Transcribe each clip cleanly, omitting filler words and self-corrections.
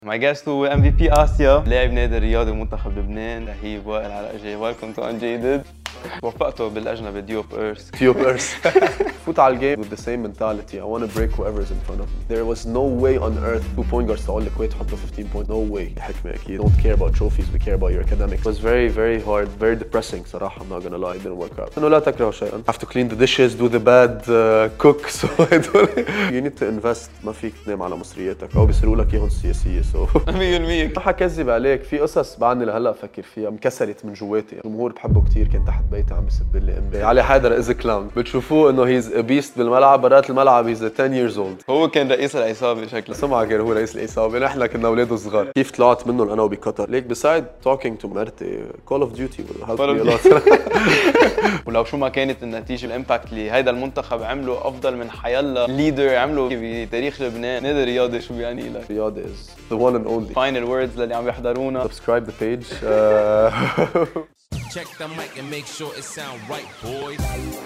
My guest هو MVP آسيا، لاعب نادي الرياضي ومنتخب لبنان، رهيب وائل علاءجي. Welcome to Unjaded. وفقته بالأجنبي ديوب إيرث. Diop Earth. فوت على الجيم with the same mentality. I want to break whoever is in front of me. There was no way on earth 2 point guards تقول لك wait حطوا 15 point. No way. حكمة أكيد. Don't care about trophies. We care about your academics. It was very very hard, very depressing صراحة. I'm not gonna lie. It didn't work out. إنه لا تكرهوا شيئا. Have to clean the dishes, do the bad, cook. So you need to invest. ما فيك تنام على مصرياتك أو بيصيروا لك إياهم سياسية. So 100% ما حكذب عليك. في قصص بعدني لهلا أفكر فيها مكسرت من جواتي. الجمهور بحبه كتير. كان تحت بيتي عم بسب لي امبارح. علي حيدر از كلاون. بتشوفوه انه هيز بيست بالملعب، برات الملعب هيز 10 years old. هو كان رئيس العصابة شكله. سمعة غير هو رئيس العصابة، نحن كنا اولاده صغار. كيف طلعت منهم انا وبقطر؟ ليك بسايد توكينج تو مرتي كول اوف ديوتي ولو شو ما كانت النتيجة، الامباكت اللي هيدا المنتخب عمله افضل من حيلا ليدر عمله بتاريخ لبنان. نادي الرياضي شو بيعني لك؟ الرياضة is the one and only. Final words للي عم يحضرونا. Subscribe the page. Check the mic and make sure it sound right, boys.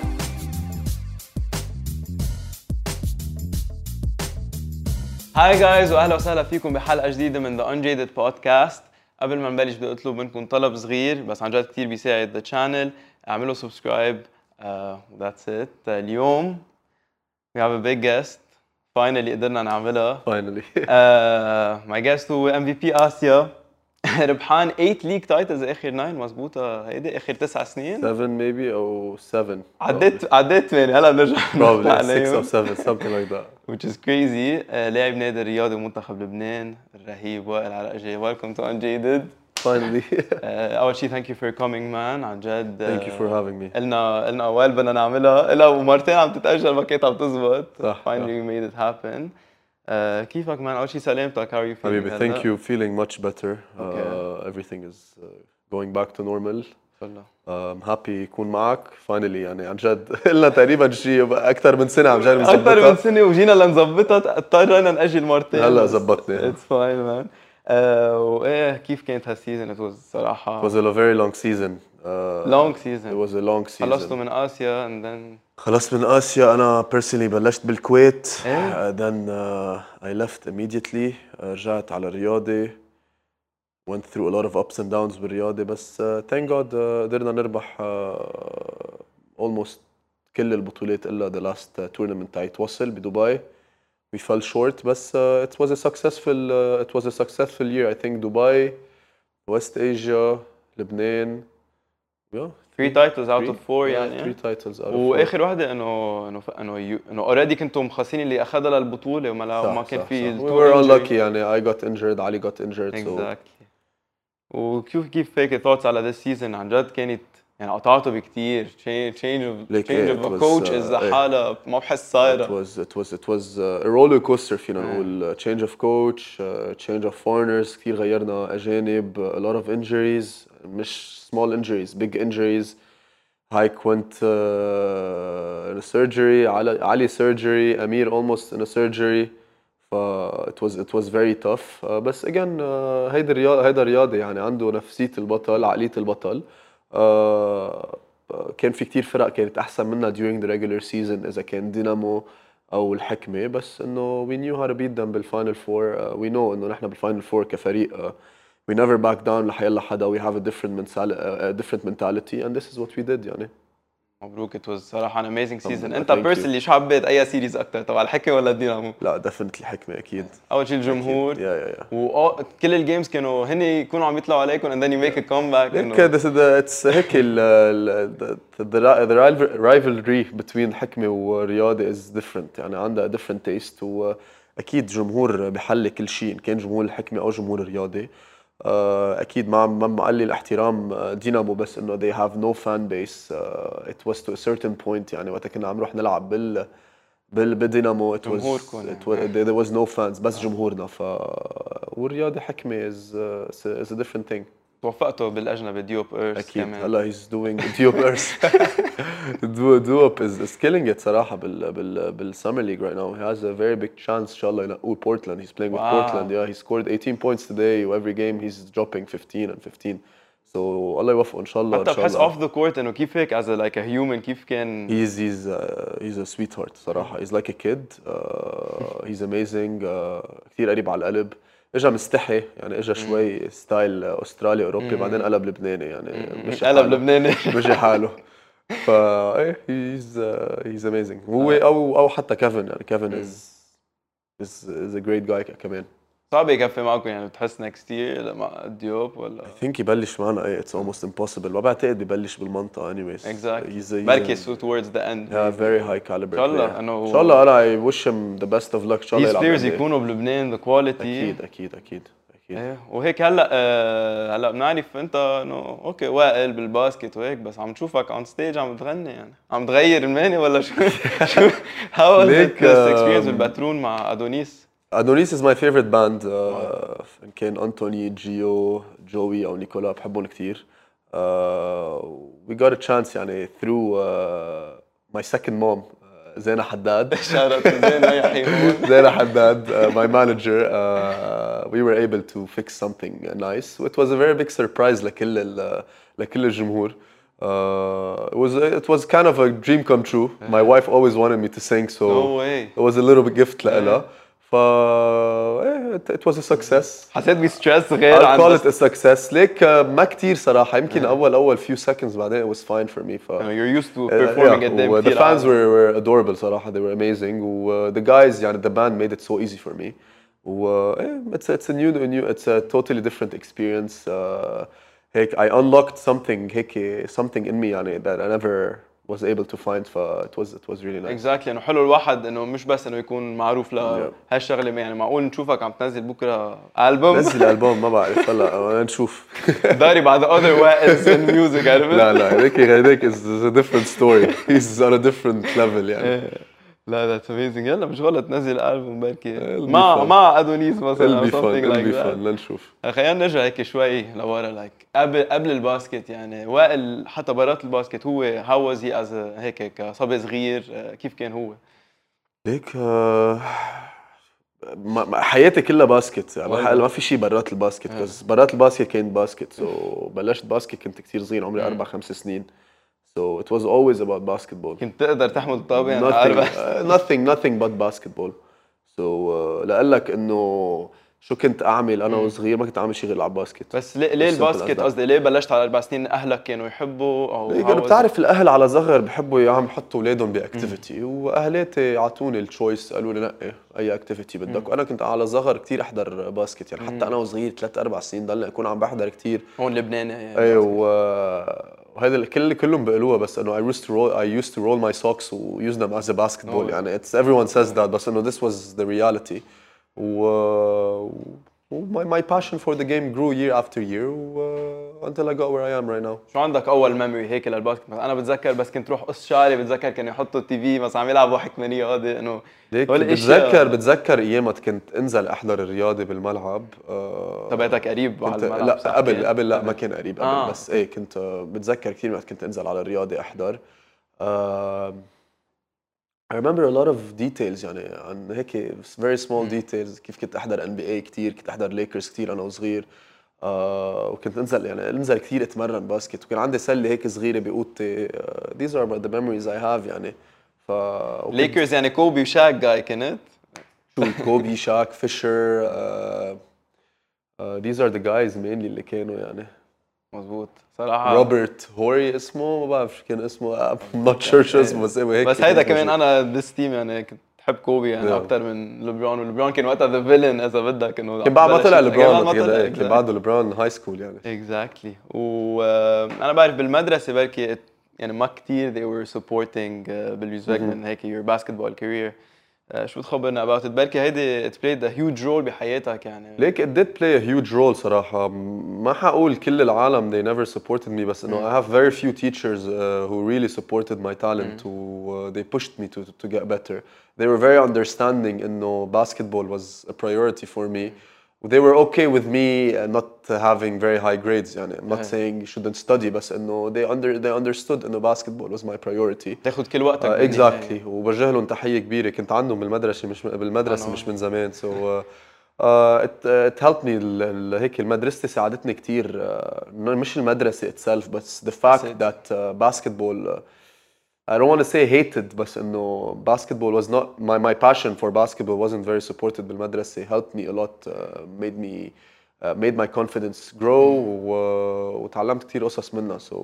هاي جايز واهلا وسهلا فيكم بحلقه جديده من ذا Unjaded بودكاست. قبل ما نبلش بدي اطلب منكم طلب صغير بس عن جد كثير بيساعد ذا شانل. اعملوا سبسكرايب. That's it. اليوم we have a big guest. Finally قدرنا نعملها. Finally. My guest هو MVP آسيا. ربحان 8 ليج تايتلز اخر 9 مزبوطه هيدي اخر 9 سنين 7 maybe او 7. عديت 8 هلا بنرجع Probably 6 or 7 something like that. which is crazy. لاعب نادي الرياضي ومنتخب لبنان الرهيب وائل علاءجي. Welcome to Unjaded. Finally. اول شيء thank you for coming man عن جد. Thank you for having me. قلنا وائل بدنا نعملها إلا ومرتين عم تتأجل ما كانت عم تزبط. صح. Finally we made it happen. كيفك مان؟ أول شيء سلامتك. How are you feeling? حبيبي thank you. Feeling much better. Okay. Everything is going back to normal. والله. I'm happy يكون معك finally. يعني عن جد قلنا تقريبا شيء أكثر من سنة عم جاي أكثر من نظبطها. سنة وجينا لنظبطها اضطرينا نأجل مرتين. هلا زبطنا. It's fine man. وإيه كيف كانت هالسيزون؟ It was صراحة. It was a very long season. long season. It was a long season. خلصتوا من آسيا and then. خلصت من آسيا. أنا personally بلشت بالكويت. إيه؟ Then I left immediately. رجعت على الرياضي. Went through a lot of ups and downs بالرياضي بس thank God قدرنا نربح almost كل البطولات إلا the last tournament تاعت وصل بدبي. We fell short بس it was a successful year. I think Dubai, West Asia, Lebanon. Yeah. 3 titles out of 4 يعني. 3 titles out of 4. واخر وحده انه اوريدي كنتوا مخصصين اللي اخذها للبطوله وما كان في. We were unlucky يعني. I got injured, Ali got injured. Exactly. وكيف فيك ثوتس على this season؟ عن جد كانت يعني قطعته بكثير. change of a coach is حالة ما بحس صايرة. It was a roller coaster فينا نقول. change of coach, change of foreigners. كثير غيرنا أجانب. A lot of injuries. مش small injuries, big injuries. Hike went in a surgery. Ali surgery. Amir almost in a surgery. it was very tough. بس again هيدا رياضي يعني عنده نفسية البطل، عقلية البطل. كان في كتير فرق كانت أحسن منا during the regular season إذا كان دينامو أو الحكمة، بس إنه we knew how to beat them بالفاينل فور. we know إنه نحن بالفاينل فور كفريق we never back down لحيلا حدا. we have a different mentality and this is what we did يعني. مبروك. it was صراحة an amazing season. انت Thank you. personally شو حبيت اي سيريز اكثر، تبع الحكمة ولا الدينامو؟ لا definitely حكمة أكيد. اول شيء الجمهور. yeah. وكل الجيمز كانوا هن يكونوا عم يطلعوا عليكم and then you make a comeback. it's هيك the rivalry between حكمة ورياضي is different يعني. عندها different taste. وأكيد جمهور بحل كل شيء إن كان جمهور الحكمة أو جمهور الرياضي. أكيد ما قال لي الاحترام دينامو بس إنه they have no fan base. It was to a certain point يعني وقت كنا عم نروح نلعب بالدينامو there was no fans بس جمهورنا. والرياضي حكمة is a different thing. توفقتوا بالأجنبي ديوب إيرث أكيد. كمان. هلا he's doing Diop Earth. Diop is killing it صراحة بالsummer league right now. He has a very big chance إن شاء الله ينقوا Portland. He's playing with Portland. Yeah, he scored 18 points today. Every game he's dropping 15 and 15. So الله يوفقه إن شاء الله. حتى بحس off the court إنه كيف هيك as a human كيف كان. He's a sweetheart صراحة. He's like a kid. He's amazing. كثير قريب على القلب. اجى مستحي يعني، اجى شوي ستايل استرالي اوروبي، بعدين قلب لبناني يعني، مشي قلب حاله. لبناني. مشي حاله. فا ايه هيز اميزنج هو، او حتى كيفن يعني، كيفن از ا جريت جاي كمان. صعب يكفي معكم يعني، بتحس next year مع ديوب ولا؟ I think يبلش معنا ايه it's almost impossible، ما بعتقد ببلش بالمنطقة anyways. exactly. he's بركي so towards the end. yeah, very high caliber إن شاء الله player. إنه ان شاء الله انا I wish him the best of luck، ان شاء الله these يلعب players NBA. يكونوا بلبنان the quality. اكيد اكيد اكيد اكيد. ايه وهيك هلا بنعرف انت انه اوكي واقل بالباسكت وهيك، بس عم نشوفك on stage عم تغني يعني، عم تغير الماني ولا شو؟ شو how was ليك، it this experience بالباترون مع ادونيس؟ ادونيس is my favorite band. إن كان انتوني، جيو، جوي او نيكولا، بحبهم كثير. We got a chance يعني through my second mom, زينة حداد. شارت زين يحيى هون. زينة حداد, my manager. We were able to fix something nice. It was a very big surprise لكل الجمهور. It was kind of a dream come true. My wife always wanted me to sing, so No way. it was a little bit gift لها. it was a success. حسيت بستريس غير I'll عن call بس it a success. ليك ما كتير صراحة، يمكن أول few seconds، بعدين it was fine for me. you're used to performing قدام the كتير fans عالم. were adorable صراحة. They were amazing. the guys يعني the band made it so easy for me. it's a totally different experience. هيك I unlocked something in me يعني that I never was able to find. it was really nice. exactly انه حلو الواحد انه مش بس انه يكون معروف لهالشغله، يعني معقول نشوفك عم تنزل بكره البوم؟ نزل ألبوم ما بعرف هلا نشوف. داري بعد other ways in music عرفت؟ لا هيك is a different story. He's on a different level يعني. لا that's amazing. يلا مش غلط نزل ألبوم بركي It'll be مع fun. مع ادونيس مثلا It'll او be fun. something It'll like be fun. that. لنشوف. خلينا نرجع هيك شوي لورا قبل الباسكت يعني. وائل حتى برات الباسكت هو how was he as هيك كصبي صغير كيف كان هو؟ ليك حياتي كلها باسكت يعني، ما في شيء برات الباسكت. بس برات الباسكت كان باسكت. بلشت باسكت كنت كثير صغير، عمري 4-5 سنين. So it was always about basketball. كنت تقدر تحمل الطابة يعني؟ nothing but basketball. So لقلك انه شو كنت اعمل انا وصغير، ما كنت اعمل شيء غير العب باسكت. بس ليه الباسكت قصدي؟ ليه بلشت على 4 سنين؟ اهلك كانوا يحبوا او كانوا بتعرف الاهل على صغر بحبوا يعملوا يحطوا اولادهم باكتيفيتي، واهلاتي اعطوني التشويس، قالوا لي نقي اي اكتيفيتي بدك. وانا كنت على صغر كثير احضر باسكت يعني، حتى انا وصغير 3-4 سنين ضلني اكون عم بحضر كثير هون لبنان يعني. ايوه وهذا كلهم بيقولوها، بس انه I used to roll my socks و use them as a basketball يعني. everyone says that، بس انه this was the reality. my passion for the game grew year after year until I got where I am right now. شو عندك اول ميموري هيك للباسكت؟ انا بتذكر بس كنت روح قص شعري، بتذكر كانوا يحطوا التي في مثلا عم يلعبوا حكمه رياضي انه ليك بتذكر ايامات كنت انزل احضر الرياضه بالملعب. تبعتك قريب على الملعب؟ لا قبل لا ما كان قريب قبل. بس ايه كنت بتذكر كثير وقت كنت انزل على الرياضه احضر. I remember a lot of details يعني عن هيك very small details. كيف كنت احضر NBA كثير، كنت احضر ليكرز كثير انا وصغير. وكنت انزل كثير اتمرن باسكت، وكان عندي سله هيك صغيره باوضتي. these are the memories I have يعني. ليكرز يعني كوبي وشاك جاي كنت؟ شو كوبي، شاك، فيشر. these are the guys mainly اللي كانوا يعني. مزبوط صراحة. روبرت هوري اسمه، ما بعرف شو كان اسمه. I'm not sure شو اسمه، بس هيك. بس هيدا كمان انا this team يعني كنت بحب كوبي يعني اكثر من لبرون. ولبرون كان وقتها ذا فيلن اذا بدك، انه كان بعد ما طلع لبرون كان بعده لبرون هاي سكول يعني. اكزاكتلي. وانا بعرف بالمدرسه بركي يعني ما كثير they were supporting بالنسبه من هيك your basketball career. شو تخبرنا about it؟ بركي هيدي it played a huge role بحياتك يعني. ليك it did play a huge role صراحة. ما حقول كل العالم they never supported me، بس إنه I have very few teachers who really supported my talent who they pushed me to get better. They were very understanding إنه basketball was a priority for me. They were okay with me not having very high grades يعني. I'm not saying you shouldn't study، بس إنه they understood إنه basketball was my priority. تاخذ كل وقتك. exactly. وبوجه لهم تحية كبيرة. كنت عندهم بالمدرسة مش من زمان. so it helped me. هيك المدرسة ساعدتني كتير. مش المدرسة itself، بس the fact that basketball I don't want to say hated بس إنه basketball was not my passion for basketball wasn't very supported بالمدرسة. Helped me a lot, made my confidence grow وتعلمت كتير قصص منها. So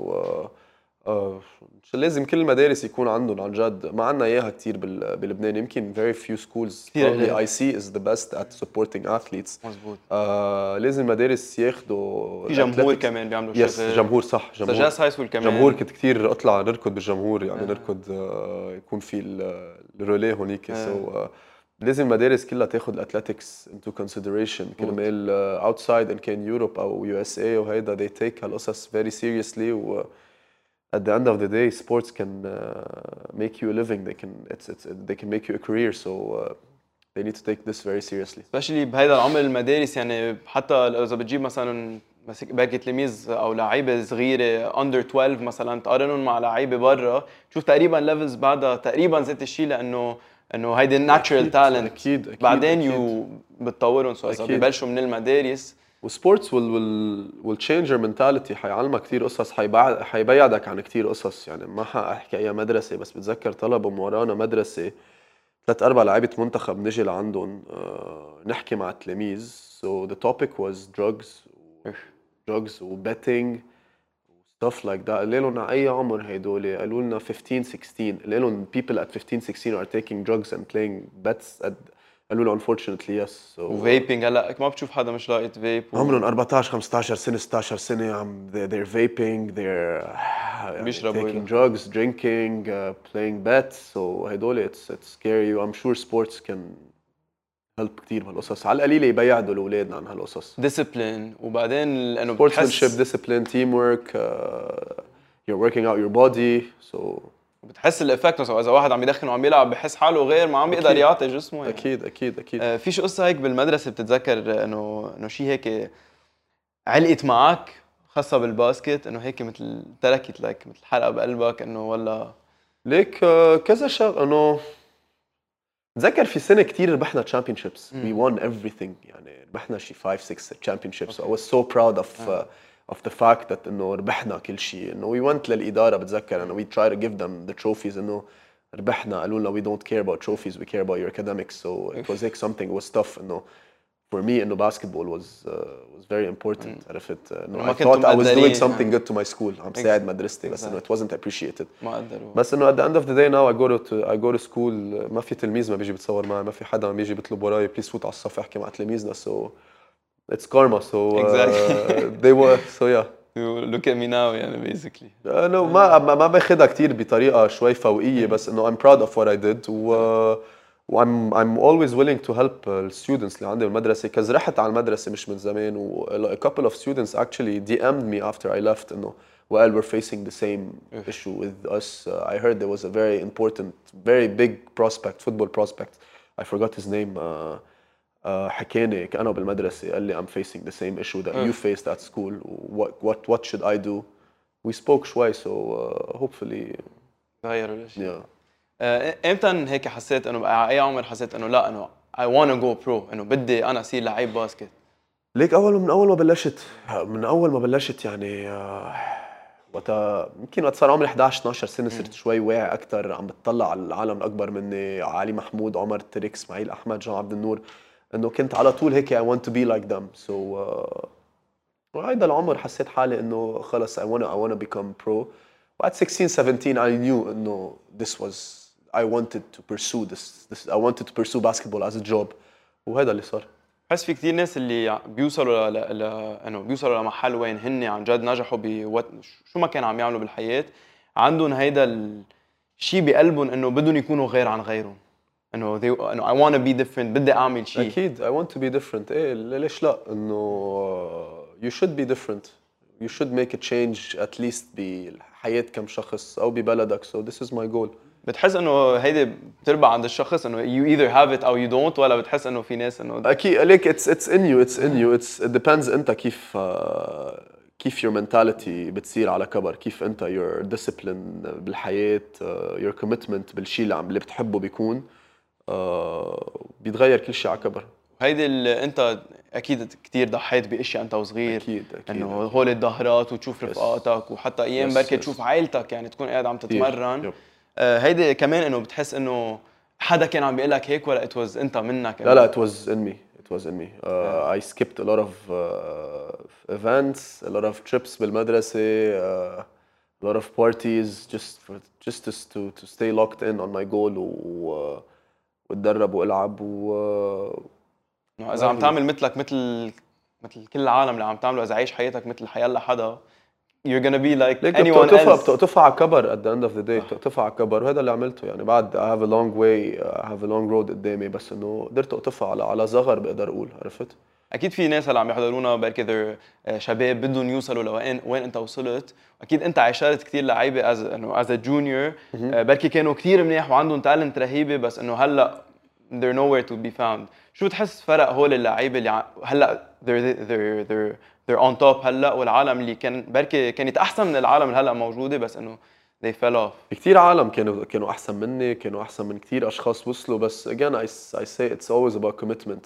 لازم كل المدارس يكون عندهم عن جد. ما عندنا اياها كتير بلبنان. يمكن very few schools probably I see is the best at supporting athletes. مزبوط. لازم المدارس ياخدوا في جمهور كمان بيعملوا شغل. يس جمهور صح. جمهور سجاس هاي سكول كمان جمهور. كنت كتير اطلع نركض بالجمهور يعني نركض يكون في الروليه هونيك. so لازم المدارس كلها تاخذ الاتلetics into consideration كرمال outside ان كان يوروب او USA وهيدا they take هالقصص very seriously. و at the end of the day sports can make you a living. They can make you a career. So they need to take this very seriously. especially بهيدا العمر المدارس. يعني حتى اذا بتجيب مثلا باقي تلاميذ او لعيبه صغيره under 12 مثلا تقارنهم مع لعيبه برا تشوف تقريبا ليفلز بعدها تقريبا ذات الشيء لانه هيدي الناتشرال تالنت. أكيد بعدين بتطورهم. سو اذا ببلشوا من المدارس وسبورتس will change your mentality. حيعلمك كتير قصص. حيبعدك عن كتير قصص. يعني ما حاحكي اي مدرسه بس بتذكر طلبوا من ورانا مدرسه 3-4 لعيبه منتخب نجي لعندهم نحكي مع التلاميذ. so the topic was drugs و betting stuff like that. قال لهم اي عمر هيدول؟ قالوا لنا 15-16. قال لهم people at 15-16 are taking drugs and playing bets at قالوا له unfortunately yes. so وفيبينج هلا ما بتشوف حدا مش لاقط فيب. عمرهم 14 15 سنه 16 سنه عم they're vaping بيشربوا taking drugs drinking playing bets. so هدول it's scary. I'm sure sports can help كتير بهالقصص. على القليله يبيعوا الاولاد عن هالقصص. ديسيبلين وبعدين لانه sportsmanship discipline teamwork you're working out your body. so بتحس الافكت. مثلا اذا واحد عم يدخن وعم يلعب بحس حاله غير ما عم يقدر يعطي جسمه. يعني. اكيد في شو قصه هيك بالمدرسه بتتذكر انه شيء هيك علقت معك خاصه بالباسكت انه هيك مثل تركت لك مثل حلقه بقلبك انه ولا ليك كذا شغله انه تذكر في سنه كتير ربحنا championships. we won everything. يعني ربحنا شي 5-6 championships. I was so proud of the fact that انه ربحنا كل شيء. انه we went للاداره بتذكر انه we try to give them the trophies. انه ربحنا قالوا لنا we don't care about trophies we care about your academics. so it was like something was tough. انه for me انه basketball was very important. عرفت انه I thought I was doing something good to my school. عم ساعد مدرستي بس انه it wasn't appreciated. ما قدروا. بس انه at the end of the day now I go to school. ما في تلميذ ما بيجي بتصور معي. ما في حدا عم بيجي بيطلب وراي بليز فوت على الصف احكي مع تلاميذنا. so it's karma. so they were so yeah look at me now يعني basically. انه ما باخدها كتير بطريقه شوي فوقيه بس انه I'm proud of what I did. I'm always willing to help students اللي عندي بالمدرسه. كز رحت على المدرسه مش من زمان و a couple of students actually DM'd me after I left انه well we're facing the same issue with us. I heard there was a very important very big football prospect. I forgot his name. حكاني كأنه بالمدرسة قال لي I'm facing the same issue that you faced at school. What should I do? We spoke شوي. so hopefully غيروا الاشي. yeah. امتى هيك حسيت انه بقى اي عمر حسيت انه لا انه I wanna go pro انه بدي انا اصير لعيب باسكت؟ ليك من اول ما بلشت يعني وقتها يمكن وقت صار عمري 11 12 سنه صرت شوي واعي اكثر. عم بتطلع على العالم الاكبر مني علي محمود عمر تريك اسماعيل احمد جان عبد النور. انه كنت على طول هيك I want to be like them. so وهيدا العمر حسيت حالي انه خلص I wanna become pro. وات 16 17 I knew انه this was I wanted to pursue this I wanted to pursue basketball as a job. وهذا اللي صار. بحس في كثير ناس اللي بيوصلوا انه بيوصلوا لمحل وين هن عن جد نجحوا شو ما كان عم يعملوا بالحياه عندهم هيدا الشيء بقلبهم انه بدهم يكونوا غير عن غيرهم. انه I want to be different. بدي اعمل شيء. اكيد I want to be different. ايه ليش لا انه you should be different. You should make a change at least بحياة كم شخص او ببلدك. so this is my goal. بتحس انه هيدي بتربع عند الشخص انه you either have it او you don't ولا بتحس انه في ناس انه اكيد ليك it's in you it depends انت كيف your mentality بتصير على كبر. كيف انت your discipline بالحياة your commitment بالشيء اللي بتحبه بيكون بيتغير كل شيء على كبر. هيدي انت اكيد كثير ضحيت باشياء انت وصغير. اكيد انه هول الظهرات وتشوف رفقاتك وحتى ايام بركي تشوف عائلتك يعني تكون قاعد عم تتمرن. هيدي كمان انه بتحس انه حدا كان عم بيقول لك هيك ولا it was انت منك؟ لا لا it was in me. It was in me. I skipped a lot of events, a lot of trips بالمدرسة, a lot of parties just to stay locked in on my goal واتدرب والعب انه اذا عم تعمل مثل كل العالم اللي عم تعمله، اذا عايش حياتك مثل حيلا حدا you're gonna be like ليك anyone else. بتقطفها على كبر at the end of the day. بتقطفها على كبر وهذا اللي عملته يعني. بعد I have a long way, I have a long road قدامي, بس انه قدرت اقطفها على صغر بقدر اقول. عرفت؟ اكيد في ناس هلا عم يحضرونا بركي شباب بدهم يوصلوا وين انت وصلت. اكيد انت عاشرت كثير لعيبه از جونيور بركي كانوا كثير منيح وعندهم تالنت رهيبه، بس انه هلا they're nowhere to be found. شو بتحس فرق هول اللعيبه اللي هلا they're on top هلا، والعالم اللي كان بركي كانت احسن من العالم اللي هلا موجوده بس انه they fell off؟ كثير عالم كانوا احسن مني، كانوا احسن من كثير اشخاص وصلوا، بس again I say it's always about commitment.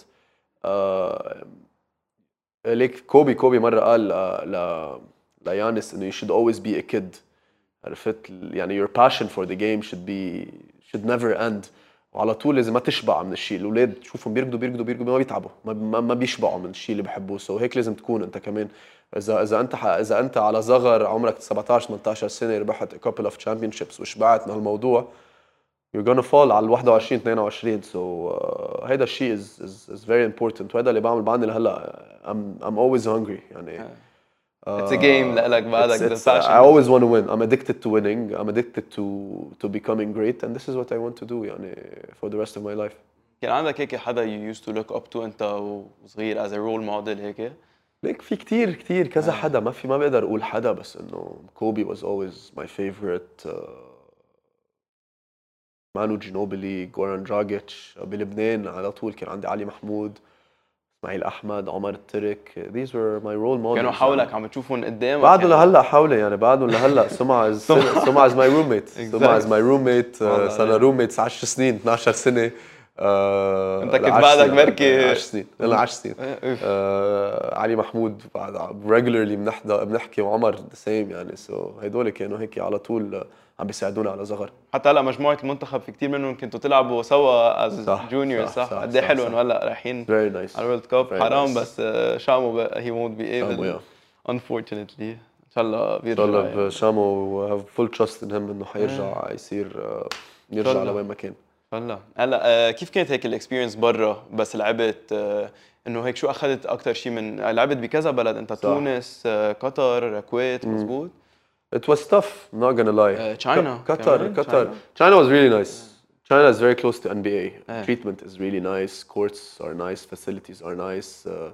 ليك كوبي مره قال ليانس انه you should always be a kid. عرفت؟ يعني your passion for the game should never end. وعلى طول لازم ما تشبع من الشيء. الاولاد تشوفهم بيركضوا ما بيتعبوا، ما بيشبعوا من الشيء اللي بحبوه. سو هيك لازم تكون انت كمان. اذا انت على صغر عمرك 17 18 سنه ربحت a couple of championships وشبعت من هالموضوع you're gonna fall على 21 22. سو هيدا الشيء is very important. وهذا اللي بعمل لهلا. I'm always hungry يعني. It's a game لك بعدك the passion. I always want to win. I'm addicted to winning. I'm addicted to becoming great, and this is what I want to do يعني for the rest of my life. كان عندك هيك حدا you used to look up to انت وصغير as a role model هيك؟ ليك في كتير كذا حدا. ما بقدر اقول حدا، بس انه كوبي was always my favorite. مانو جينوبيلي، جوران دراجيتش. بلبنان على طول كان عندي علي محمود، اسماعيل احمد، عمر الترك. these were my role models. كانوا حولك عم تشوفهم قدامك؟ بعدهم لهلا حولي يعني. بعدهم لهلا. سمع is my roommate. سمع is my roommate. صرنا roommates 10 سنين 12 سنه. انت كنت بعدك بركي 10 سنين. يلا 10 سنين. علي محمود بعد regularly بنحكي، وعمر the same يعني. سو هدول كانوا هيك على طول عم بيساعدونا على صغر. حتى هلا مجموعه المنتخب في كثير منهم كنتوا تلعبوا سوا از جونيور. صح قد ايه حلو انه هلا رايحين على الورلد كاب. حرام بس شامو he won't be able unfortunately. ان شاء الله بيرجع. ان شاء الله شامو have full trust in him انه حيرجع يرجع لوين ما كان. والله هلا كيف كانت هيك الاكسبيرينس برا؟ بس لعبت انه هيك شو اخذت اكثر شيء من لعبت بكذا بلد انت؟ تونس، قطر، الكويت. مزبوط. It was tough, I'm not gonna lie. China. China was really nice. China is very close to NBA. Treatment is really nice. Courts are nice. Facilities are nice.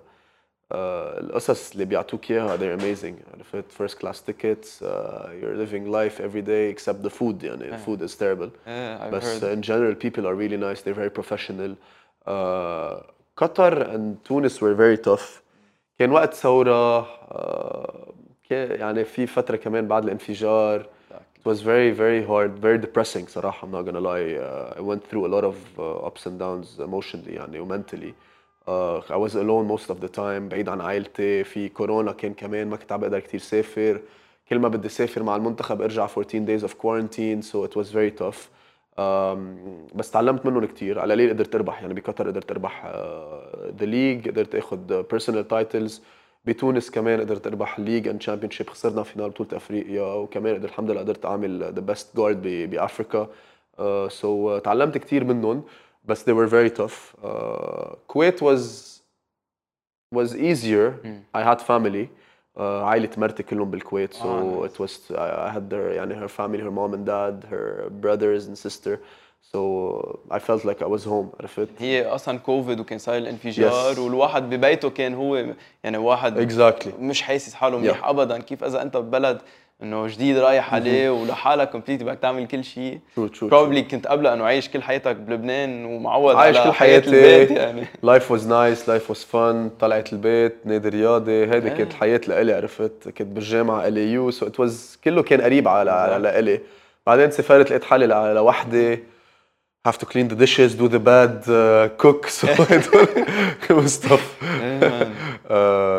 القصص اللي بيعطوك اياها they're amazing. عرفت؟ first class tickets. You're living life every day except the food. يعني the food is terrible. But in general people are really nice. They're very professional. Qatar and Tunis were very tough. كان وقت ثورة. يعني في فترة كمان بعد الانفجار. It was very hard, very depressing صراحة. I'm not gonna lie. I went through a lot of ups and downs emotionally يعني و mentally. I was alone most of the time. بعيد عن عائلتي. في كورونا كان كمان ما كنت عم بقدر كتير سافر. كل ما بدي سافر مع المنتخب ارجع 14 days of quarantine. So it was very tough. بس تعلمت منهم كتير. على القليل قدرت اربح يعني. بقطر قدرت اربح the league. قدرت اخذ personal titles. بتونس كمان قدرت اربح ليج اند تشامبيونشيب. خسرنا فينال بطولة افريقيا. وكمان قدرت الحمد لله قدرت اعمل the best guard بافريقيا. So تعلمت كتير منهم. بس they were very tough. Kuwait was easier. I had family. عائلة مرتي كلهم بالكويت. So it was I had their يعني her family, her mom and dad, her brothers and sister. So I felt like I was home. عرفت؟ هي اصلا كوفيد وكان صار الانفجار. والواحد ببيته كان هو يعني واحد مش حاسس حاله منيح ابدا. كيف اذا انت ببلد انه جديد رايح عليه ولحالك كومبليت بدك تعمل كل شيء. probably كنت قبلها انه عايش كل حياتك بلبنان ومعود على حياة البيت يعني. life was nice, life was fun. طلعت البيت، نادي رياضي. هيدي كانت الحياة لإلي. عرفت؟ كنت بالجامعة LAU. so it was كله كان قريب على إلي. بعدين سافرت لقيت حالي لوحدي. have to clean the dishes, do the bed, cook. So it was tough.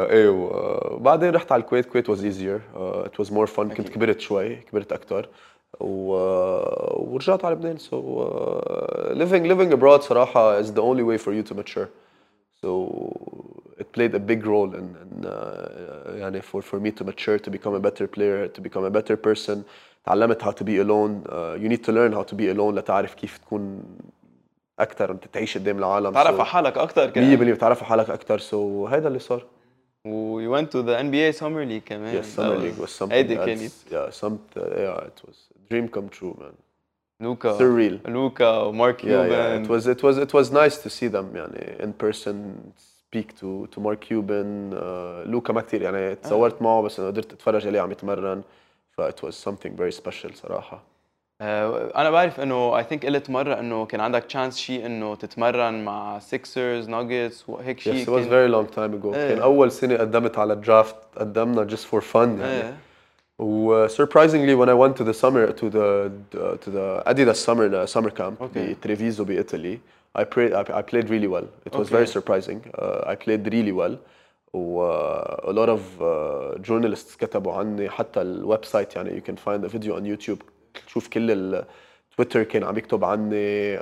بعدين رحت على الكويت. was easier. It was more fun. كنت كبرت شوي، كبرت أكتر. ورجعت على لبنان. So living abroad صراحة is the only way for you to mature. So it played a big role in يعني for me to mature, to become a better player, to become a better person. تعلمت how to be alone. You need to learn how to be alone لتعرف كيف تكون أكتر وأنت تعيش قدام العالم. تعرف على حالك اكثر كمان. 100% بتعرف على حالك أكتر. So هذا اللي صار. و you went to the NBA Summer League كمان. Yes, summer league was something هيدي else. كانت Yeah, it was a dream come true, man. لوكا Surreal. لوكا ومارك Yeah, كيوبان. it was nice to see them يعني in person, speak to Mark Cuban. لوكا ما كتير يعني تصورت معه بس أنا قدرت أتفرج عليه عم يتمرن. it was something very special صراحة. انا بعرف انه I think قلت مره انه كان عندك تشانس شيء انه تتمرن مع سيكسرز ناجتس وهيك شيء. Yes, it was very long time ago. كان أول سنة قدمت على الدرافت، قدمنا just for fun يعني. surprisingly when I went to the summer to the Adidas summer camp بتريفيزو بإيطالي, I played really well. It was very surprising. I played really well. a lot of journalists كتبوا عني حتى الويب سايت يعني you can find a video on YouTube. تشوف كل التويتر كان عم يكتب عني.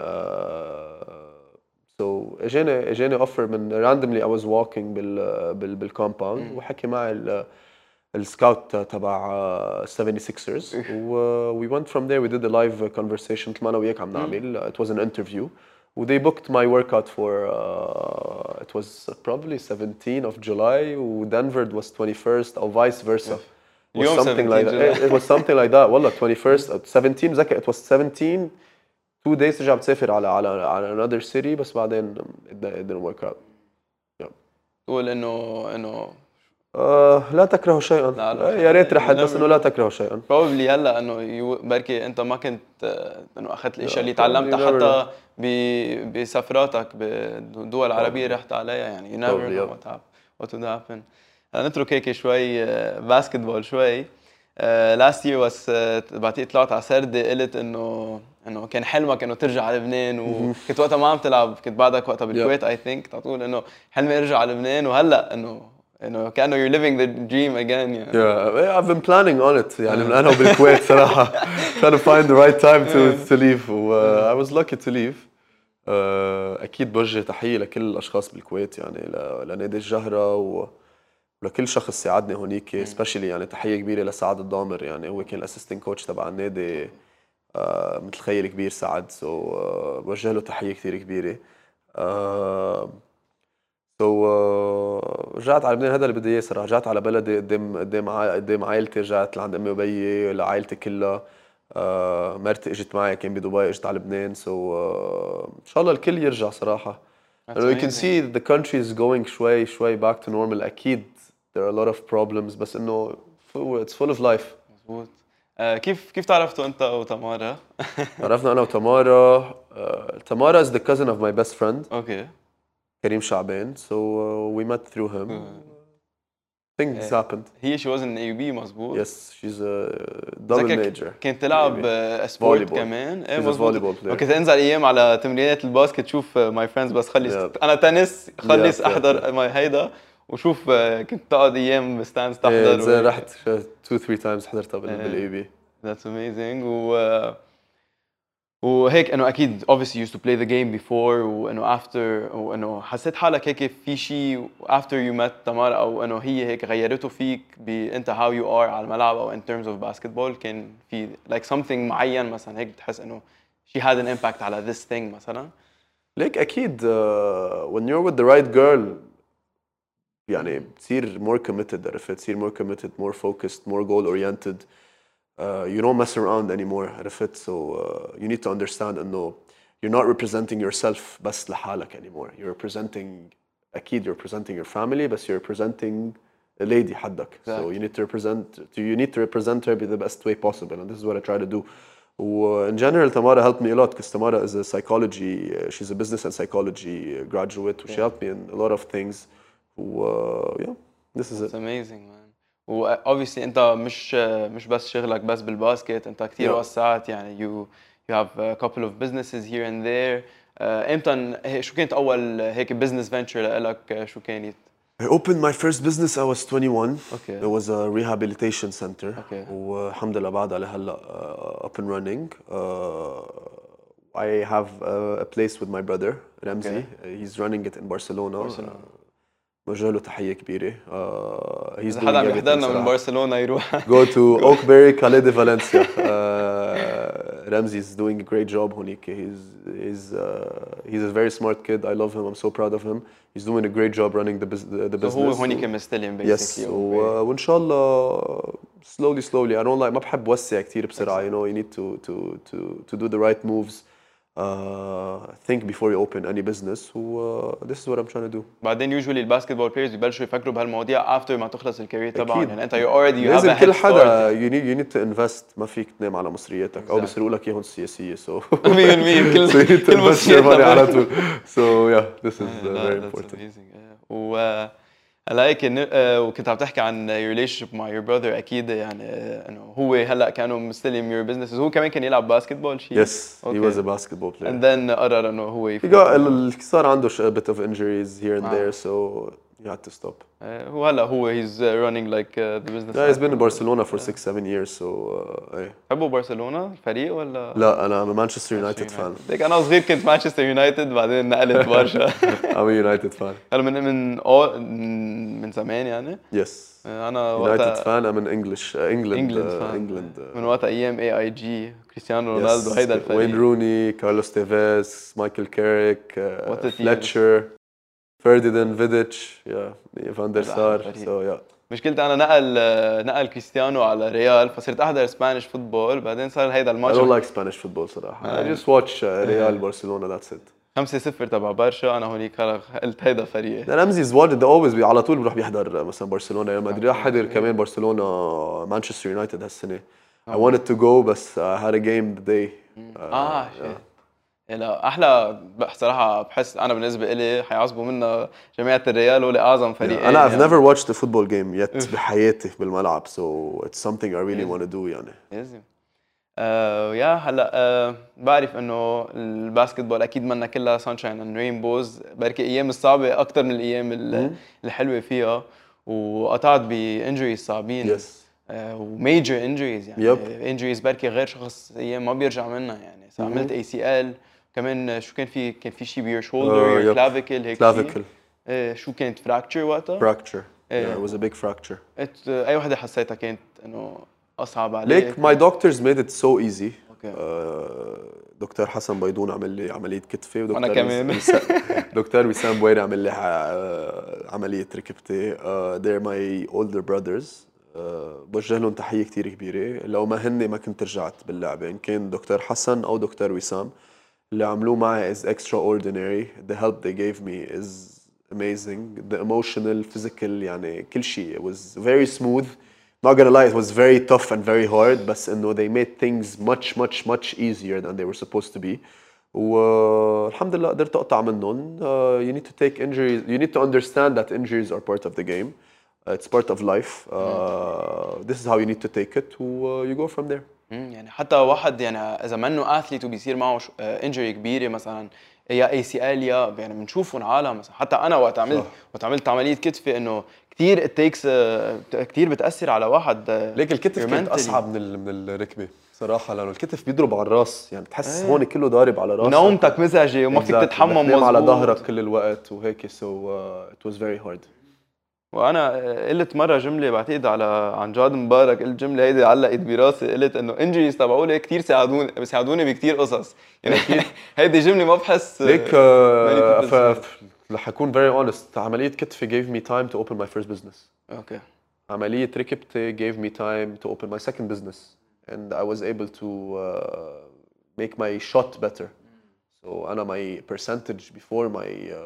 so اجاني offer من randomly I was walking بالكومباوند وحكي معي السكاوت تبع 76ers و we went from there. We did a live conversation مثل ما انا وياك عم نعمل. It was an interview. They booked my workout for it was probably 17 of July وDenver was 21st or vice versa. It was something like that. It was something like that. والله 21st 17 بذكر it was 17 2 days ترجع بتسافر على another city بس بعدين it didn't work out. تقول انه لا تكرهوا شيئا. يا ريت رحت بس انه لا تكرهوا شيئا. probably هلا انه بركي انت ما كنت انه اخذت الاشياء اللي تعلمتها حتى بسفراتك بالدول العربيه رحت عليها يعني you never know what would happen. نترك هيك شوي باسكتبول شوي. last year was بعتقد طلعت على سردة قلت انه كان حلمك انه ترجع على لبنان وكنت وقتها ما عم تلعب كنت بعدك وقتها بالكويت I think تقول انه حلمي ارجع على لبنان وهلا انه كأنه you're living the dream again يعني. Yeah, I've been planning on it يعني من أنا وبالكويت صراحة trying to find the right time to leave. I was lucky to leave. أكيد بوجه تحية لكل الأشخاص بالكويت يعني لنادي الجهرة ولكل شخص ساعدني هونيك especially يعني تحية كبيرة لسعد الضامر يعني هو كان الاسيستنت كوتش تبع النادي مثل خيي الكبير سعد. بوجه له تحية كثير كبيرة. رجعت على لبنان. هذا اللي بدي اياه صراحه. رجعت على بلدي قدام عائلتي. رجعت لعند امي وبيي لعائلتي كلها. مرتي اجت معي كان بدبي اجت على لبنان. ان شاء الله الكل يرجع صراحه. You can see the country is going شوي back to normal. اكيد there are a lot of problems بس انه it's full of life. مزبوط. كيف تعرفتوا انت وتمارا؟ عرفنا انا وتمارا. تمارا is the cousin of my best friend. اوكي. كريم شعبان. So we met through him. Things happened. She was in AUB مزبوط. Yes, she's a double major. كانت تلعب سبورت كمان. She's a volleyball player. وكنت انزل ايام على تمرينات الباسكت تشوف ماي فريندز بس خلص انا تنس خلص احضر ماي هيدا وشوف كنت تقعد ايام بستانس تحضر. رحت 2-3 times حضرتها بالاي بي. That's amazing. وهيك انه اكيد obviously you used to play the game before وانه after وانه حسيت حالك هيك في شيء after you met تمارا او انه هي هيك غيرته فيك انت how you are على الملعب او in terms of basketball كان في like something معين مثلا هيك بتحس انه she had an impact على this thing مثلا؟ ليك اكيد when you're with the right girl يعني بتصير more committed. عرفت تصير more committed more focused more goal oriented. You don't mess around anymore. عرفت. So you need to understand انه you're not representing yourself بس لحالك anymore. You're representing أكيد you're representing your family بس you're representing a lady حدك. So you need to represent her the best way possible and this is what I try to do. In general Tamara helped me a lot because Tamara is a psychology she's a business and psychology graduate. She helped me in a lot of things. Yeah, this is it. It's amazing man. و obviously انت مش بس شغلك بس بالباسكت انت كثير وسعت يعني you have a couple of businesses here and there. امتى شو كانت اول هيك business venture لك شو كانت؟ I opened my first business I was 21. Okay. It was a rehabilitation center. Okay. والحمد لله بعد على هلا up and running. I have a place with my brother Ramzi. He's running it in Barcelona. بوجه له تحية كبيرة. He's إذا doing حدا عم everything يحضرنا من صراحة. برشلونة يروح. Go to Oakberry, Calais de Valencia. Ramzi is doing a great job هونيك. He's a very smart kid. I love him. I'm so proud of him. He's doing a great job running the business. هو هونيك مستلم Yes. basically. وإن شاء الله slowly. I don't like ما بحب وسع كتير بسرعة. You know, you need to do the right moves. Think before you open any business. This is what I'm trying to do. بعدين usually الباسكتبول بلايرز ببلشوا يفكروا بهالمواضيع after ما تخلص الكارير تبعهم. أكيد. يعني انت you have لازم a كل head حدا start. you need to invest. ما فيك تنام على مصرياتك او بيسرقوا لك اياهم السياسيه so 100% كل so you need to كل invest your money مصرياتنا على طول. So yeah, this is very That's important. amazing. هلا هيك وكنت عم تحكي عن your relationship مع your brother اكيد يعني انه هو هلا كانوا مستلم your business هو كمان كان يلعب باسكتبول شيء. Yes, he was a basketball player. And then قرر انه هو He got صار عنده a bit of injuries here and there so he had to stop. هو هلا he's running like the business. Yeah, he's been in Barcelona for 6-7 years so ايه. بحبوا برشلونة الفريق ولا؟ لا انا مانشستر يونايتد فان. ديك انا صغير كنت مانشستر يونايتد بعدين نقلت برشا. I'm a United fan. هلا من زمان يعني. Yes. انا United fan. I'm in England. England من وقت ايام AIG كريستيانو رونالدو هيدا الفريق. وين روني كارلوس تيفيز مايكل كاريك What a team. فليتشر فرديناند فيديتش فان دير سار so yeah. مشكلتي انا نقل كريستيانو على ريال فصرت احضر سبانيش فوتبول بعدين صار هيدا I الماتش don't like Spanish football صراحة. I just watch ريال برشلونة that's it. 5-0 تبع برشا انا هونيك قلت هيدا فريقي. رمزي is one that always على طول بروح بيحضر مثلا برشلونة ريال مدريد. راح حضر كمان برشلونة مانشستر يونايتد هالسنة. I wanted to go بس I had a game the day. شيء لا احلى صراحه بحس انا بالنسبه لي حيعصبوا منا جماعه الريال هو اعظم فريق. أنا I've never watched a football game yet بحياتي بالملعب so it's something I really want to do يعني. لازم. يا هلا بعرف انه الباسكتبول اكيد منا كلها سانشاين اند رينبوز بركي ايام الصعبه اكثر من الايام الحلوه فيها وقطعت بانجريز صعبين. Yes. وميجر انجريز يعني انجريز بركي غير شخص ايام ما بيرجع منها يعني عملت ACL كمان شو كان في شيء بيور شولدر كلافيكل هيك كلافيكل شو كانت فراكتشر وقتها؟ fracture. Yeah, it was a big fracture. اي وحده حسيتها كانت انه اصعب عليك. Like my doctors made it so easy. Okay. دكتور حسن بيضون عمل لي عملية كتفي أنا كمان. دكتور وسام بويري عمل لي عملية ركبتي. they're my older brothers. بوجه لهم تحية كتير كبيرة. لو ما هن ما كنت رجعت باللعبة إن كان دكتور حسن أو دكتور وسام اللي عملوه معي is extraordinary. The help they gave me is amazing. The emotional, physical يعني كل شيء. It was very smooth. Not gonna lie, it was very tough and very hard. بس إنه they made things much easier than they were supposed to be. والحمد لله قدرت أقطع منهم. You need to take injuries. You need to understand that injuries are part of the game. It's part of life. This is how you need to take it. You go from there. يعني حتى واحد يعني إذا منه أثليت وبيصير معه إنجري كبيرة مثلا يا ACL يا يعني بنشوفهم عالم مثلا حتى أنا وقت عملت عملية كتفي إنه كتير it takes كتير بتأثر على واحد. ليك الكتف كانت أصعب من الركبة صراحة لأنه الكتف بيضرب على الراس يعني بتحس هون كله ضارب على راسك. نومتك مزعجة وما فيك تتحمم مظبوط. على ظهرك كل الوقت وهيك so it was very hard. وانا قلت مره جمله بعتقد عن جاد مبارك قلت جمله هيدي علقت براسي قلت انه انجريز تبعولي كثير بيساعدوني بكثير قصص يعني هيدي جمله ما بحس ليك رح اكون very honest. عمليه كتفي gave me time to open my first business. اوكي. عمليه ركبتي gave me time to open my second business and I was able to make my shot better. So أنا my percentage before my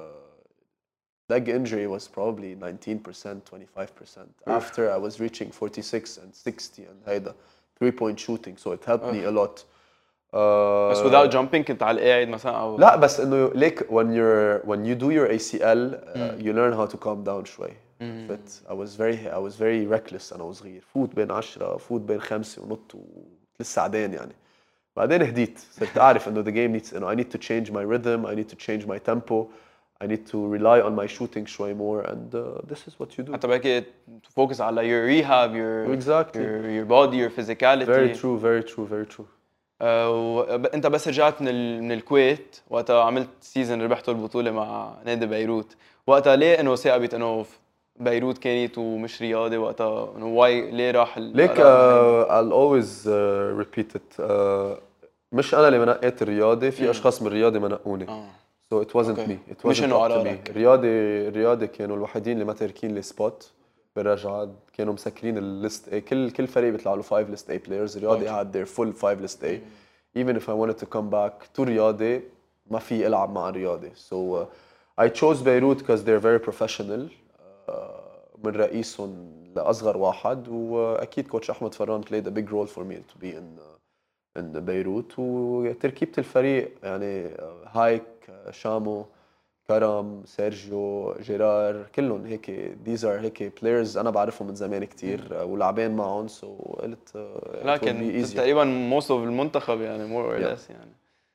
leg injury was probably 19%, 25%. After I was reaching 46 and 60 and هيدا 3-point shooting, so it helped me a lot. بس without jumping كنت على القاعد مثلا أو لا بس إنه ليك when you do your ACL you learn how to calm down شوي. But I was very reckless أنا وصغير. فوت بين 10 فوت بين 5 ونط ولسه عدين يعني. بعدين هديت صرت أعرف إنه the game needs I need to change my rhythm, I need to change my tempo. I need to rely on my shooting شوي more and this is what you do. حتى بهيك focus على your rehab, Exactly. your body, your physicality. Very true, very true, very true. انت بس رجعت من الكويت وقتها عملت سيزون ربحتوا البطوله مع نادي بيروت، وقتها ليه انه ثابت انه بيروت كانت ومش رياضي وقتها، انه واي ليه راح ليك I'll always repeat it. مش انا اللي منقيت الرياضي، في اشخاص من الرياضي منقوني. So it wasn't Okay. me. It wasn't مش إنه up to me. قرارك. الرياضي كانوا الوحيدين اللي ما تاركين لي سبوت بالرجعة، كانوا مسكرين الليست A. كل فريق بيطلع له 5 list A players. الرياضي قاعد their full 5 list A. Even if I wanted to come back to رياضي ما في العب مع الرياضي. So I chose بيروت because they're very professional. من رئيسهم لأصغر واحد، وأكيد كوتش أحمد فران played a big role for me to be in بيروت. وتركيبة الفريق يعني هايك، شامو، كرم، سيرجيو، جيرار، كلهم هيك these are هيك players أنا بعرفهم من زمان كتير ولاعبين معهم. So قلت لكن تقريبا most of المنتخب يعني more or less يعني.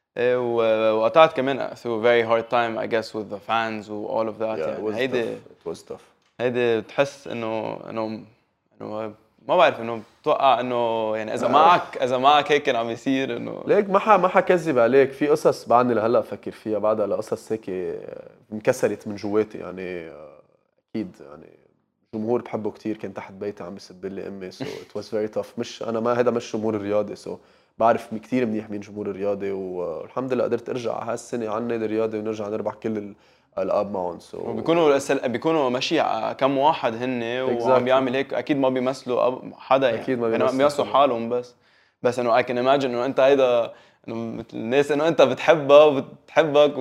وقطعت كمان through a very hard time I guess with the fans و all of that. يعني هيدي it was tough. هيدي بتحس انه ما بعرف انه بتوقع انه يعني اذا معك هيك كان عم يصير انه ليك ما حكذب عليك، في قصص بعدني لهلا افكر فيها بعدها لقصص هيك انكسرت من جواتي يعني. اكيد يعني جمهور بحبه كتير كان تحت بيتي عم يسب لي امي. so it was very tough. مش انا ما هذا مش جمهور الرياضي. so بعرف كتير منيح مين جمهور الرياضي، والحمد لله قدرت ارجع هالسنه على النادي الرياضي ونرجع نربح كل الالقاب معهم. so بيكونوا ماشي كم واحد هن وعم بيعمل هيك، اكيد ما بيمثلوا حدا يعني، اكيد ما بيمثلوا حالهم بس انه I can imagine انه انت هيدا انه مثل الناس انه انت بتحبها وبتحبك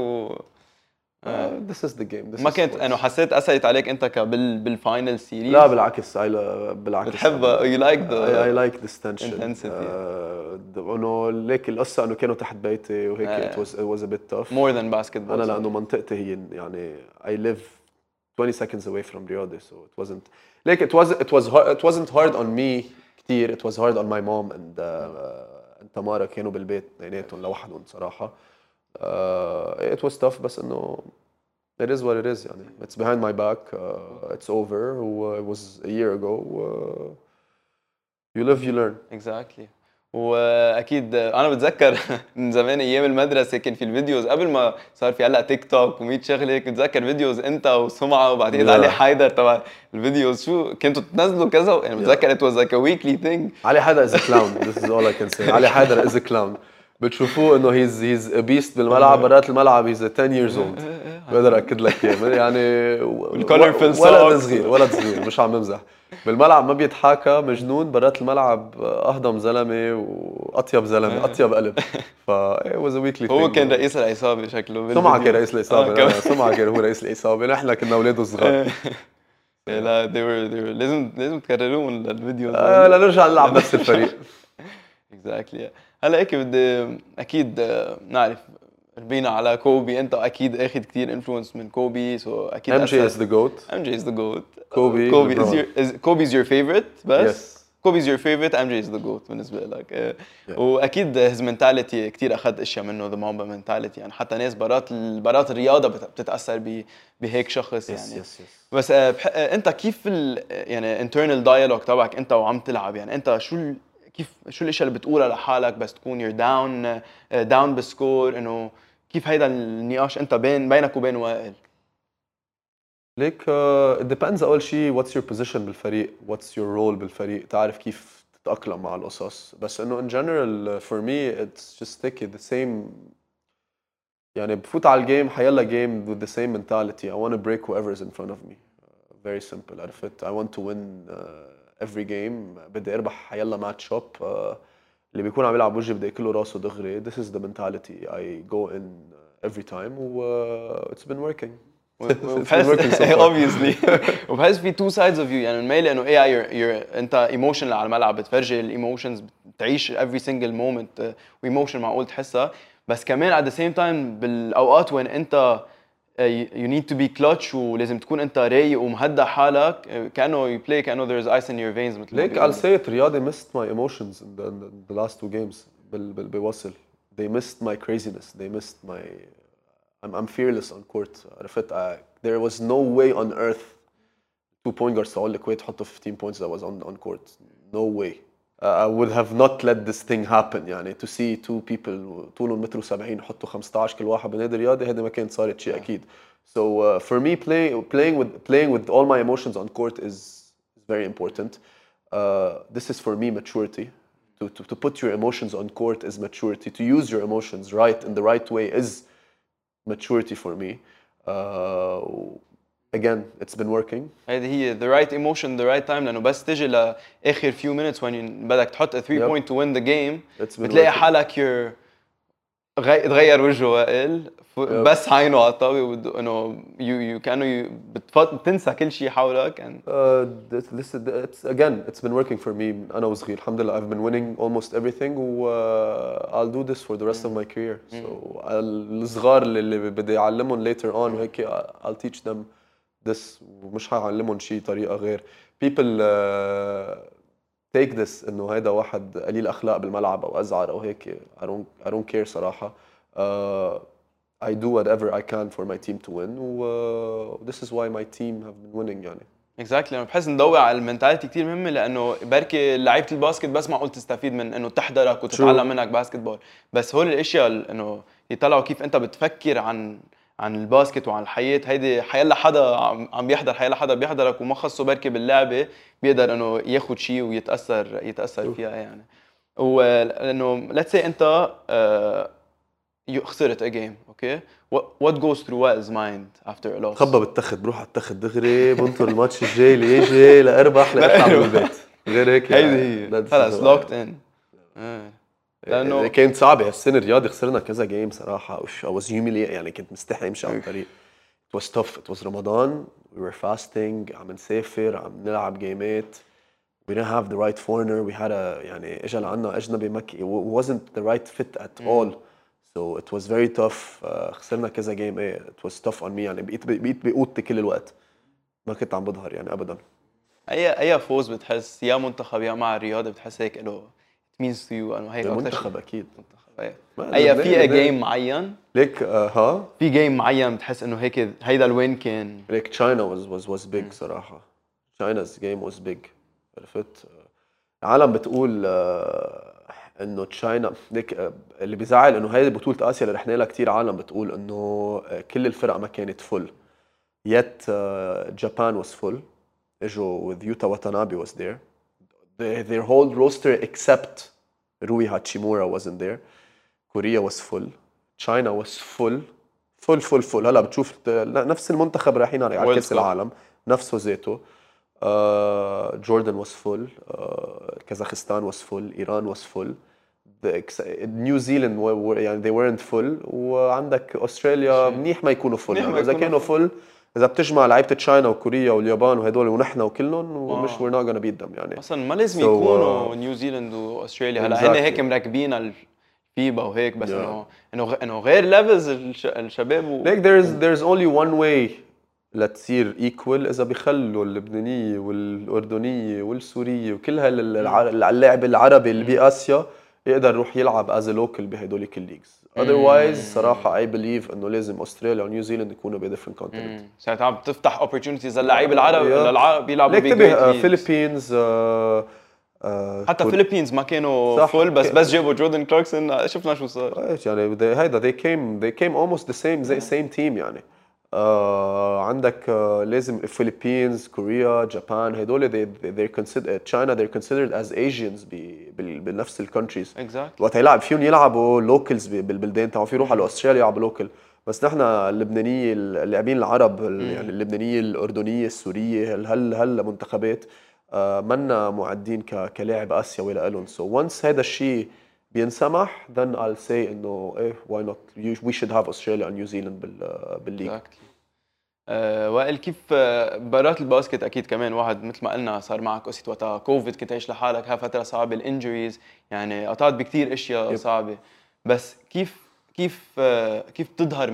this is the game. ما كنت انه حسيت اثرت عليك انت بالفاينل سيريز؟ لا بالعكس، بالعكس بتحبها. you like I like this tension. intensity. انه ليك القصه انه كانوا تحت بيتي وهيك it was a bit tough. more than basketball. انا لانه منطقتي هي يعني I live 20 seconds away from رياضي. so it wasn't like it wasn't hard on me كتير. it was hard on my mom and تمارا كانوا بالبيت اثنيناتهم لوحدهم صراحه. it was tough بس انه it is what it is يعني. it's behind my back. it's over. it was a year ago. you live you learn. exactly. واكيد انا بتذكر من زمان ايام المدرسه كان في الفيديوز قبل ما صار في هلا تيك توك و100 شغله هيك. بتذكر فيديوز انت وسمعه وبعدين علي حيدر تبع الفيديوز، شو كنتوا تنزلوا كذا يعني. بتذكر it was like a weekly thing. علي حيدر is a clown. this is all I can say. علي حيدر is a clown. بتشوفوه انه he's a beast بالملعب، برات الملعب he's 10 years old. بقدر اكد لك اياه يعني. ولد صغير مش عم بمزح. بالملعب ما بيتحاكى، مجنون. برات الملعب اهضم زلمه واطيب زلمه، اطيب قلب. ف it was a weekly thing. هو كان رئيس العصابه شكله. سمعة كان رئيس العصابه. سمعة كان هو رئيس العصابه. نحن كنا اولاده صغار. لا they were لازم تكررون الفيديو. لا نرجع نلعب نفس الفريق. exactly. هلا هيك بدي اكيد نعرف ربينا على كوبي. انت اكيد اخذ كثير انفلونس من كوبي. سو اكيد MJ is the GOAT. MJ is the GOAT. Kobe is your favorite بس. yes. Kobe's your favorite. MJ is the GOAT بالنسبه لك. واكيد his mentality كثير اخذ اشياء منه. the Mamba mentality يعني. حتى ناس برات الرياضه بتتاثر بهيك شخص يعني. yes. بس انت كيف يعني internal dialogue تبعك انت وعم تلعب يعني. انت شو الاشياء اللي بتقولها لحالك بس تكون you're down بسكور؟ انه كيف هيدا النقاش انت بينك وبين وائل؟ ليك it depends اول شيء what's your position بالفريق، what's your role بالفريق، تعرف كيف تتأقلم مع القصص. بس انه in general for me it's just take it the same يعني. بفوت على الجيم حيلا جيم with the same mentality. I want to break whoever's in front of me. very simple. عرفت؟ I want to win every game. بدي اربح حيلا ماتش اب. اللي بيكون عم يلعب وجهي بدي اكله راسه دغري. this is the mentality I go in every time. it's been working. obviously. وبحس في two sides of you يعني. الميل انه you're انت emotional على الملعب، بتفرجي الايموشنز، بتعيش every single moment وايموشن معقول تحسها. بس كمان at the same time بالاوقات وين انت you need to be clutch ولازم تكون انت رايق ومهدأ حالك، كانه you play كانه there's ice in your veins. مثل ليك I'll say it. رياضي missed my emotions in the last two games. بوصل they missed my craziness. they missed my I'm fearless on court. عرفت there was no way on earth 2 point guards تقول الكويت حطوا 15 points that was on court. No way. I would have not let this thing happen يعني to see two people طولهم متر و70 يحطوا 15 كل واحد بنادي رياضي هذا ما كانت صارت شيء أكيد. So for me playing with all my emotions on court is very important. This is for me maturity. To put your emotions on court is maturity. To use your emotions right in the right way is maturity for me. Again, it's been working. هيدي هي the right emotion the right time لأنه بس تجي لآخر few minutes when بدك تحط a 3 point to win the game بتلاقي حالك تغير وجهه وائل بس عينه على الطاوله انه كانه بتنسى كل شيء حولك and it's been working for me انا وصغير الحمد لله I've been winning almost everything I'll do this for the rest of my career so الصغار اللي بدي اعلمهم later on وهيك I'll teach them this ومش هعلمهم شيء طريقه غير people take this انه هيدا واحد قليل اخلاق بالملعب او ازعر او هيك I don't care صراحه I do whatever I can for my team to win this is why my team have been winning يعني exactly انا بحس نضوي على المنتاليتي كثير مهمه لانه بركي لعيبه الباسكت بس معقول تستفيد من انه تحضرك وتتعلم منك باسكت بول بس هول الاشياء انه يطلعوا كيف انت بتفكر عن الباسكت وعن الحياه هيدي حيلا حدا عم بيحضر حيلا حدا بيحضرك وما خصه بركي باللعبه بيقدر انه ياخذ شيء ويتاثر فيها يعني ولانه let's say انت خسرت a game okay what goes through Wael's mind after a loss خبى بالتخت بروح على التخت دغري بنطر الماتش الجاي اللي يجي لاربح لاطلع من البيت غير هيك هيدي هي خلص locked in لانه كانت صعبه هالسنه الرياضي خسرنا كذا جيم صراحه I was humiliated يعني كنت مستحي امشي على الطريق it was tough it was رمضان we were fasting عم نسافر عم نلعب جيمات we didn't have the right foreigner we had a يعني اجى لعنا اجنبي مكي it wasn't the right fit at all so it was very tough خسرنا كذا جيم it was tough on me يعني بقيت بقوتي كل الوقت ما كنت عم بظهر يعني ابدا اي فوز بتحس يا منتخب يا مع الرياضه بتحس هيك له it means to you انه هيك منتخب اكيد اي في جيم معين ليك في جيم معين بتحس انه هيك هيدا الوين كان ليك China was big صراحه China's game was big عرفت العالم بتقول انه تشاينا ليك اللي بيزعل انه هاي بطوله اسيا اللي رحنا لها كثير عالم بتقول انه كل الفرق ما كانت فل yet Japan was full اجوا with Yuta Watanabe was there their whole roster except Rui Hachimura wasn't there Korea was full China was full هلا بتشوف نفس المنتخب رايحين على كاس العالم نفسه ذاته Jordan was full Kazakhstan was full Iran was full New Zealand يعني they weren't full وعندك أستراليا منيح ما يكونوا full يعني إذا كانوا full إذا بتجمع لعيبة تشاينا وكوريا واليابان وهدول ونحن وكلهم ومش we're not gonna beat them يعني أصلاً ما لازم يكونوا نيوزيلند وأستراليا هلا هن هيك مركبين الفيبا وهيك بس إنه غير ليفلز الشباب like there's only one way لتصير equal إذا بيخلوا اللبنانية والأردنية والسورية وكل هاللاعب العربي اللي بآسيا يقدر يروح يلعب as a local بهدول الليجز. Otherwise صراحة I believe إنه لازم أستراليا ونيوزيلند يكونوا ب different continent. ساعتها عم تفتح opportunities للعيبة العرب بيلعبوا فيلبينز حتى فيلبينز ما كانوا فول بس جابوا جوردن كلاركسون شفنا شو صار. يعني هيدا they came almost the same team يعني. عندك لازم Philippines, Korea, Japan هدول they're considered China they're considered as Asians بنفس الكونتريز. Exactly. وقت يلعب فيهم يلعبوا locals بالبلدان تاعهم في يروحوا على أستراليا يلعبوا local بس نحن اللبنانية اللاعبين العرب يعني اللبنانية الأردنية السورية هل منتخبات منا معدين كلاعب آسيوي لهم so once هذا الشيء بينسمح then I'll say إنه why not we should have Australia and New Zealand بالليج. وائل كيف برات الباسكت اكيد كمان واحد مثل ما قلنا صار معك قصه وقتها كوفيد كنت عايش لحالك ها فتره صعبه الانجريز يعني قطعت بكثير اشياء صعبه بس كيف بتظهر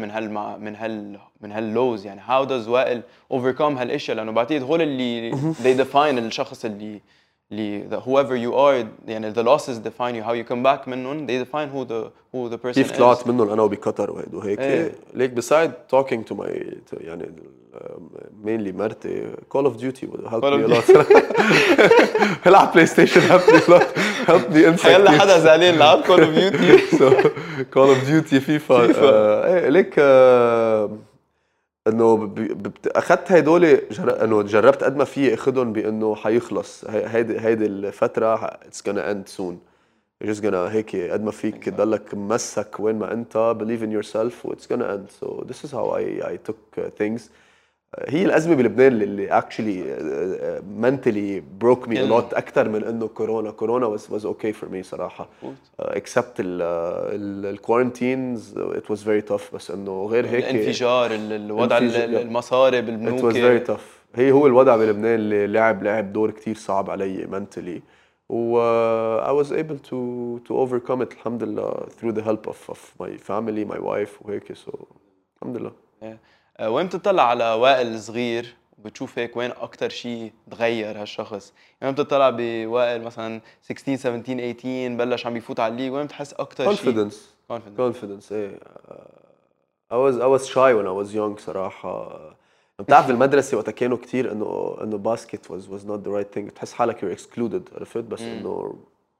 من هاللوز يعني how does وائل overcome هالاشياء لانه بعتقد هول اللي they define الشخص اللي whoever you are يعني the losses define you, how you come back منهم they define who the person كيف is. طلعت منهم انا وبقطر وهيك إيه. ليك beside talking to my يعني mainly مرتي Call of Duty would help me a lot. العب بلاي ستيشن help me a lot, help me انسى هلا كتير. حدا زعلان لعب Call of Duty. So Call of Duty فيفا ايه ليك انه اخذت هدول انه جربت قد ما في اخذهم بانه حيخلص هيدي الفتره it's gonna end soon. You're just gonna هيك قد ما فيك تضلك ممسك وين ما انت believe in yourself و it's gonna end. So this is how I took things. هي الأزمة بلبنان اللي actually mentally broke me a lot أكثر من إنه كورونا was okay for me صراحة. Except ال quarantines it was very tough, بس إنه غير هيك الانفجار الوضع المصاري بالبنوك it was very tough. هو الوضع بلبنان اللي لعب دور كتير صعب علي mentally. و I was able to overcome it الحمد لله through the help of my family, my wife وهيك. So الحمد لله. وين بتطلع على وائل صغير وبتشوف هيك وين أكتر شيء تغير هالشخص؟ يعني وين بتطلع بوائل مثلا 16 17 18 بلش عم يفوت على الليج، وين بتحس أكتر شيء؟ confidence ايه. I was shy when I was young صراحة. بتعرف بالمدرسة وقتها كانوا كتير إنه باسكت was not the right thing. بتحس حالك you're excluded عرفت، بس إنه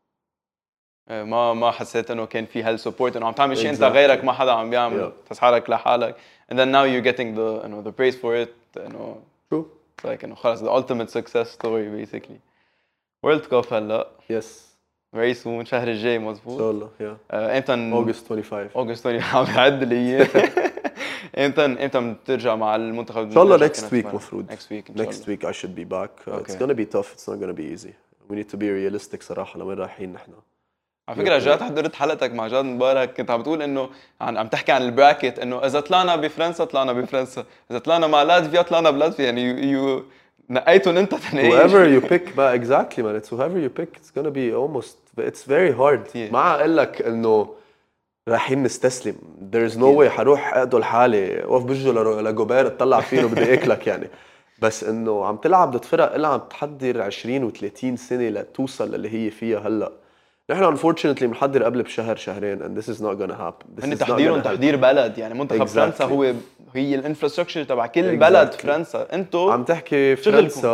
ما حسيت إنه كان في هالسبورت إنه عم تعمل شيء أنت غيرك ما حدا عم بيعمل، تحس حالك لحالك. And then now you're getting the praise for it. true. It's like خلاص the ultimate success story basically. World Cup هلا. Yes. Very soon شهر الجاي مظبوط. إن شاء الله. Yeah. إمتى؟ August 25. August 25 عم بعد لي إياه. إمتى بترجع مع المنتخب؟ إن شاء الله next week مفروض. Next week I should be back. It's gonna be tough. It's not gonna be easy. We need to be realistic صراحة لوين رايحين نحن. على فكرة جات حضرت حلقتك مع جاد مبارك، كنت عم بتقول إنه عم تحكي عن البراكت، إنه إذا طلعنا بفرنسا طلعنا بفرنسا، إذا طلعنا مع لاتفيا طلعنا بلاتفيا، يعني نقيتهم أنت تنقي. Whoever you pick بقى exactly man. It's whoever you pick. It's gonna be almost. It's very hard. ما أقول لك إنه رايحين نستسلم. There is no way حروح أقتل حالي وقف بجوا لجوبير اطلع فيه وبدي أكلك يعني. بس إنه عم تلعب ضد فرق اللي عم تحضر 20 و30 سنة لتوصل للي هي فيها هلا. نحن unfortunately بنحضر قبل بشهر شهرين and this is not gonna happen. هن تحضيرهم تحضير بلد، يعني منتخب فرنسا هي الانفراستراكشر تبع كل بلد فرنسا. انتو عم تحكي فرنسا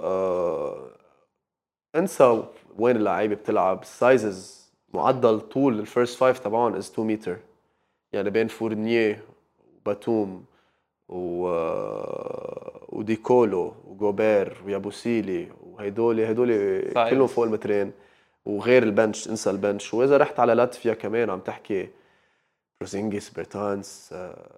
انسى وين اللعيبه بتلعب. السايزز معدل طول الفيرست فايف تبعهم is 2 متر، يعني بين فورنيه وباتوم وديكولو وجوبير ويابوسيلي وهيدول كلهم فوق المترين، وغير البنش انسى البنش. واذا رحت على لاتفيا كمان عم تحكي بروزينجيس بيرتانس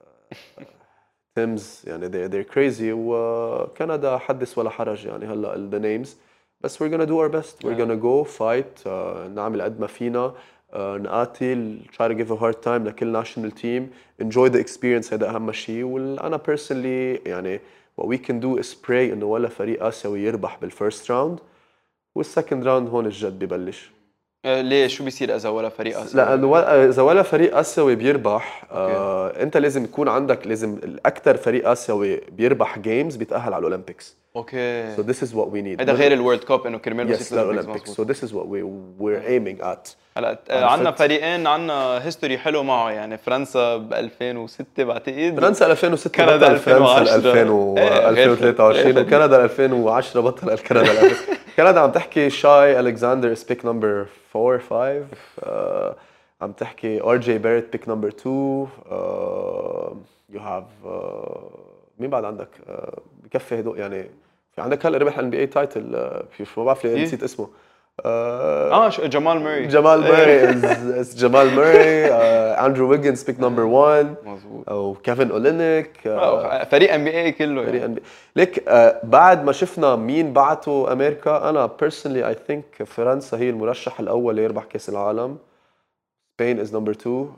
تيمز، يعني they're crazy. وكندا حدث ولا حرج يعني هلا the names، بس we're gonna do our best. We're gonna go fight. نعمل قد ما فينا، نقاتل، try to give a hard time لكل national team. enjoy the experience، هذا اهم شيء. وانا personally يعني what we can do is pray انه ولا فريق اسيوي يربح بالفيرست راوند، والسكند راوند هون الجد ببلش. ليه شو بيصير اذا ولا فريق اسيوي؟ لانه اذا ولا فريق اسيوي بيربح انت لازم يكون عندك، لازم الاكثر فريق اسيوي بيربح جيمز بيتاهل على الاولمبيكس. اوكي. So this is what we need. هذا غير الورلد كاب انه كرمال بس الاولمبيكس. So this is what we're aiming at. هلا عندنا فريقين عندنا هيستوري حلو معه، يعني فرنسا ب 2006 بعتقد، فرنسا 2006 كندا بطل فرنسا 2023 ايه وكندا 2010 بطل كندا. كندا عم تحكي شاي الكساندر is pick number 4 5. عم تحكي ار جي بيرت pick number 2. you have مين بعد عندك بكفي هدول يعني. في عندك هلا ربح الان بي اي تايتل، ما بعرف ليه نسيت اسمه. جمال موري. جمال موري. اندرو ويجنز بيك نمبر 1 مظبوط، او كيفن اولينيك. فريق ام بي اي كله فريق يعني. ليك بعد ما شفنا مين بعتوا امريكا، انا بيرسونلي اي ثينك فرنسا هي المرشح الاول ليربح كاس العالم. سبين از نمبر 2.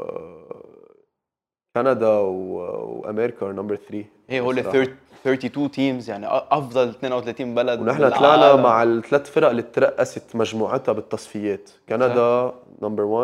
كندا وامريكا ار نمبر 3. هي هول 32 تيمز، يعني افضل 32 بلد. ونحن طلعنا مع الثلاث فرق اللي ترأست مجموعتها بالتصفيات. كندا نمبر 1،